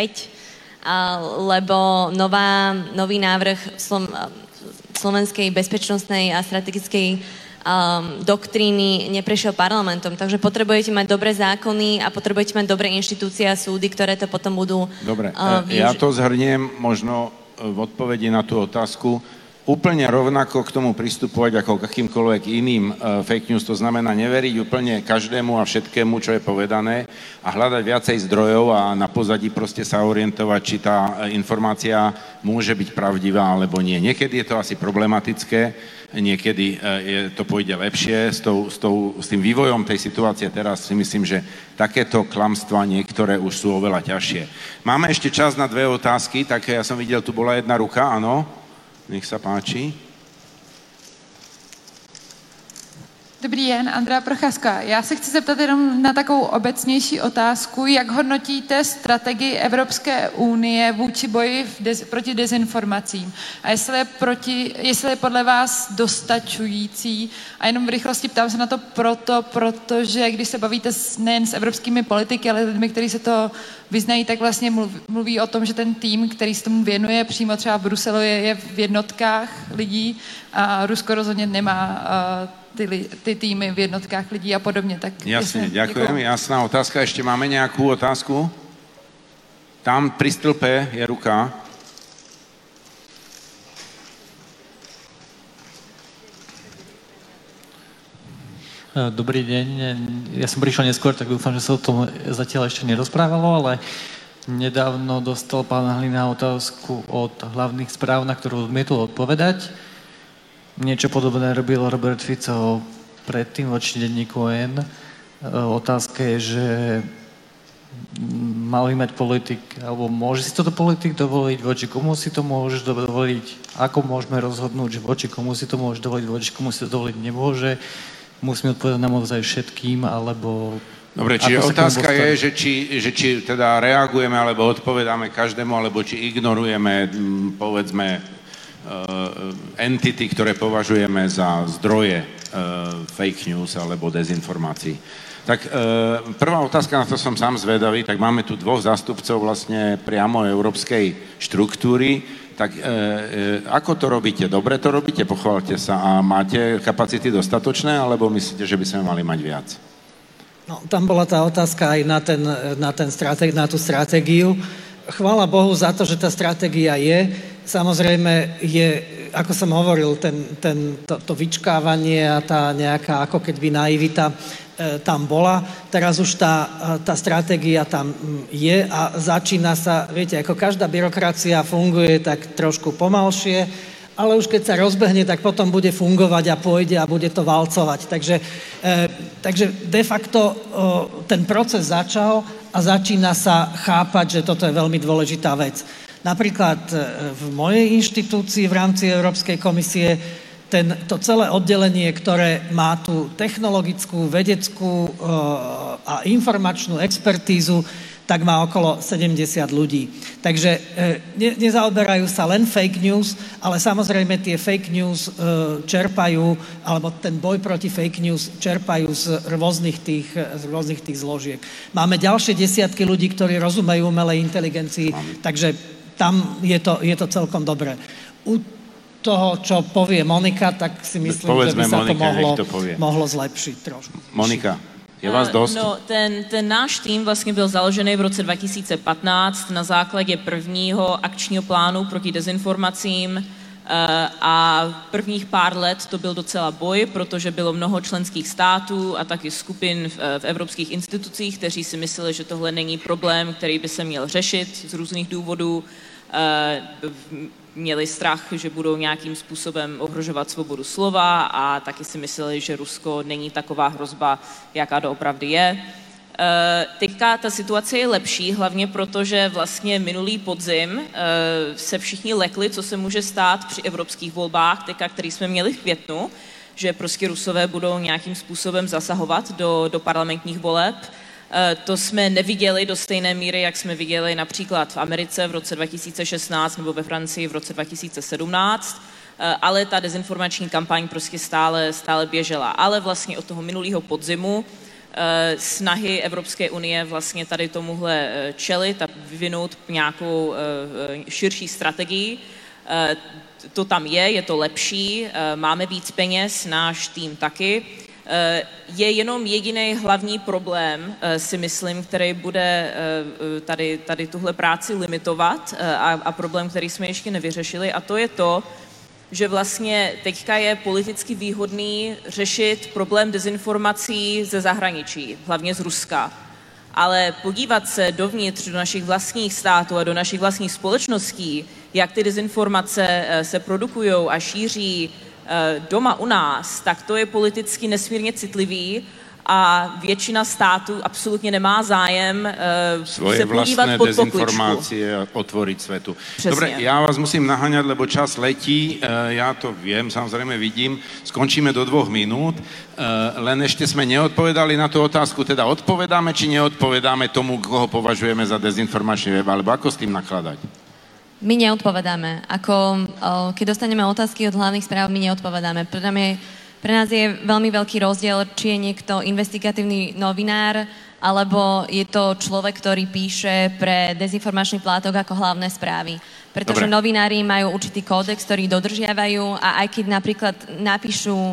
lebo nový návrh slovenskej bezpečnostnej a strategickej doktríny neprešiel parlamentom. Takže potrebujete mať dobré zákony a potrebujete mať dobré inštitúcie a súdy, ktoré to potom budú využiť. Ja to zhrniem možno v odpovedi na tú otázku. Úplne rovnako k tomu pristupovať ako k akýmkoľvek iným fake news, to znamená neveriť úplne každému a všetkému, čo je povedané a hľadať viacej zdrojov a na pozadí proste sa orientovať, či tá informácia môže byť pravdivá alebo nie. Niekedy je to asi problematické, niekedy to pôjde lepšie. S tým vývojom tej situácie teraz si myslím, že takéto klamstvá niektoré už sú oveľa ťažšie. Máme ešte čas na 2 otázky, tak ja som videl, tu bola jedna ruka, áno. Nech sa páči. Dobrý den, Andrea Procházka. Já se chci zeptat jenom na takovou obecnější otázku. Jak hodnotíte strategii Evropské unie vůči boji proti dezinformacím? A jestli je podle vás dostačující? A jenom v rychlosti ptám se na to protože když se bavíte nejen s evropskými politiky, ale lidmi, kteří se to vyznají, tak vlastně mluví o tom, že ten tým, který se tomu věnuje přímo třeba v Bruselu, je v jednotkách lidí a Rusko rozhodně nemá ty týmy v jednotkách lidí a podobně. Tak jasne, ďakujem. Jasná otázka. Ešte máme nejakú otázku? Tam pri stĺpe je ruka. Dobrý deň. Ja som prišiel neskôr, tak dúfam, že sa o tom zatiaľ ešte nerozprávalo, ale nedávno dostal pán Hlina otázku od hlavných správ, na ktorú odmietol odpovedať. Niečo podobné robil Robert Fico predtým voči denníku N. Otázka je, že mal by mať politik, alebo môže si toto politik dovoliť, voči komu si to môže dovoliť, ako môžeme rozhodnúť, že voči komu si to môže dovoliť, voči komu si to dovoliť nemôže. Musíme odpovedať naozaj všetkým, alebo... Dobre, čiže otázka je, že či teda reagujeme, alebo odpovedáme každému, alebo či ignorujeme, povedzme, entity, ktoré považujeme za zdroje fake news alebo dezinformácií. Tak prvá otázka, na to som sám zvedavý, tak máme tu 2 zástupcov vlastne priamo európskej štruktúry, tak ako to robíte? Dobre to robíte? Pochválte sa. A máte kapacity dostatočné, alebo myslíte, že by sme mali mať viac? No, tam bola tá otázka aj na tú stratégiu. Chvála Bohu za to, že tá stratégia je. Samozrejme je, ako som hovoril, to vyčkávanie a tá nejaká ako keby naivita tam bola. Teraz už tá stratégia tam je a začína sa, viete, ako každá byrokracia funguje tak trošku pomalšie, ale už keď sa rozbehne, tak potom bude fungovať a pôjde a bude to valcovať. Takže de facto ten proces začal a začína sa chápať, že toto je veľmi dôležitá vec. Napríklad v mojej inštitúcii v rámci Európskej komisie to celé oddelenie, ktoré má tú technologickú, vedeckú a informačnú expertízu, tak má okolo 70 ľudí. Takže nezaoberajú sa len fake news, ale samozrejme tie fake news čerpajú, alebo ten boj proti fake news čerpajú z rôznych tých zložiek. Máme ďalšie desiatky ľudí, ktorí rozumejú umelej inteligencii, takže tam je to celkom dobré. U toho, čo povie Monika, tak si myslím, že by sa to mohlo zlepšiť trošku. Monika. Je vás dost? No, ten náš tým vlastně byl založený v roce 2015 na základě prvního akčního plánu proti dezinformacím a prvních pár let to byl docela boj, protože bylo mnoho členských států a taky skupin v evropských institucích, kteří si mysleli, že tohle není problém, který by se měl řešit z různých důvodů. Měli strach, že budou nějakým způsobem ohrožovat svobodu slova a taky si mysleli, že Rusko není taková hrozba, jaká doopravdy je. Teďka ta situace je lepší, hlavně proto, že vlastně minulý podzim se všichni lekli, co se může stát při evropských volbách, teďka, který jsme měli v květnu, že prostě Rusové budou nějakým způsobem zasahovat do parlamentních voleb. To jsme neviděli do stejné míry, jak jsme viděli například v Americe v roce 2016 nebo ve Francii v roce 2017, ale ta dezinformační kampaň prostě stále běžela. Ale vlastně od toho minulého podzimu snahy Evropské unie vlastně tady tomuhle čelit a vyvinout nějakou širší strategii. To tam je to lepší, máme víc peněz, náš tým taky. Je jenom jediný hlavní problém, si myslím, který bude tady tuhle práci limitovat a problém, který jsme ještě nevyřešili, a to je to, že vlastně teďka je politicky výhodný řešit problém dezinformací ze zahraničí, hlavně z Ruska. Ale podívat se dovnitř do našich vlastních států a do našich vlastních společností, jak ty dezinformace se produkují a šíří doma u nás, tak to je politicky nesmírně citlivý a většina států absolutně nemá zájem se podívat pod pokličku. Dezinformácie otvoriť svetu. Přesně. Dobre, ja vás musím naháňať, lebo čas letí. Ja to viem, samozrejme vidím. Skončíme do 2 minút. Len ešte sme neodpovedali na tú otázku, teda odpovedáme, či neodpovedáme tomu, koho považujeme za dezinformačný web, alebo ako s tým nakladať? My neodpovedáme. Keď dostaneme otázky od hlavných správ, my neodpovedáme. Pre nás je veľmi veľký rozdiel, či je niekto investigatívny novinár, alebo je to človek, ktorý píše pre dezinformačný plátok ako hlavné správy. Pretože novinári majú určitý kódex, ktorý dodržiavajú a aj keď napríklad napíšu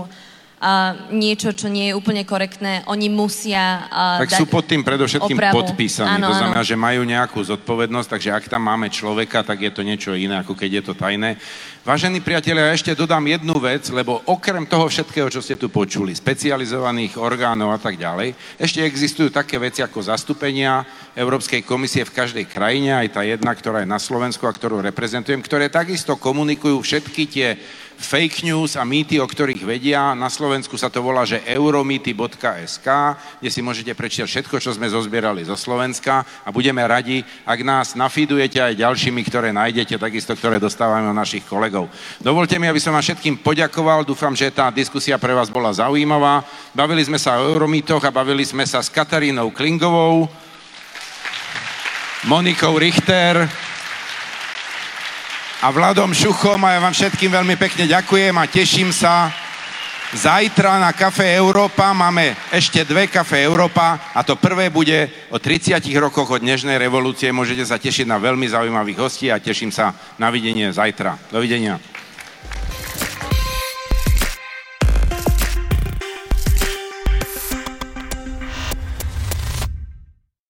niečo, čo nie je úplne korektné, oni musia tak dať sú pod tým predovšetkým opravu. Podpísaní. To znamená, že majú nejakú zodpovednosť, takže ak tam máme človeka, tak je to niečo iné, ako keď je to tajné. Vážení priatelia, ja ešte dodám jednu vec, lebo okrem toho všetkého, čo ste tu počuli, specializovaných orgánov a tak ďalej, ešte existujú také veci ako zastúpenia Európskej komisie v každej krajine, aj tá jedna, ktorá je na Slovensku a ktorú reprezentujem, ktoré takisto komunikujú všetky tie fake news a mýty, o ktorých vedia. Na Slovensku sa to volá, že euromity.sk, kde si môžete prečítať všetko, čo sme zozbierali zo Slovenska a budeme radi, ak nás nafeedujete aj ďalšími, ktoré nájdete, takisto, ktoré dostávame od našich kolegov. Dovolte mi, aby som vám všetkým poďakoval. Dúfam, že tá diskusia pre vás bola zaujímavá. Bavili sme sa o euromýtoch a bavili sme sa s Katarínou Klingovou, Monikou Richter a Vladom Šuchom, a ja vám všetkým veľmi pekne ďakujem a teším sa. Zajtra na Café Európa máme ešte 2 Café Európa a to prvé bude o 30 rokoch od dnešnej revolúcie. Môžete sa tešiť na veľmi zaujímavých hostí a teším sa na videnie zajtra. Dovidenia.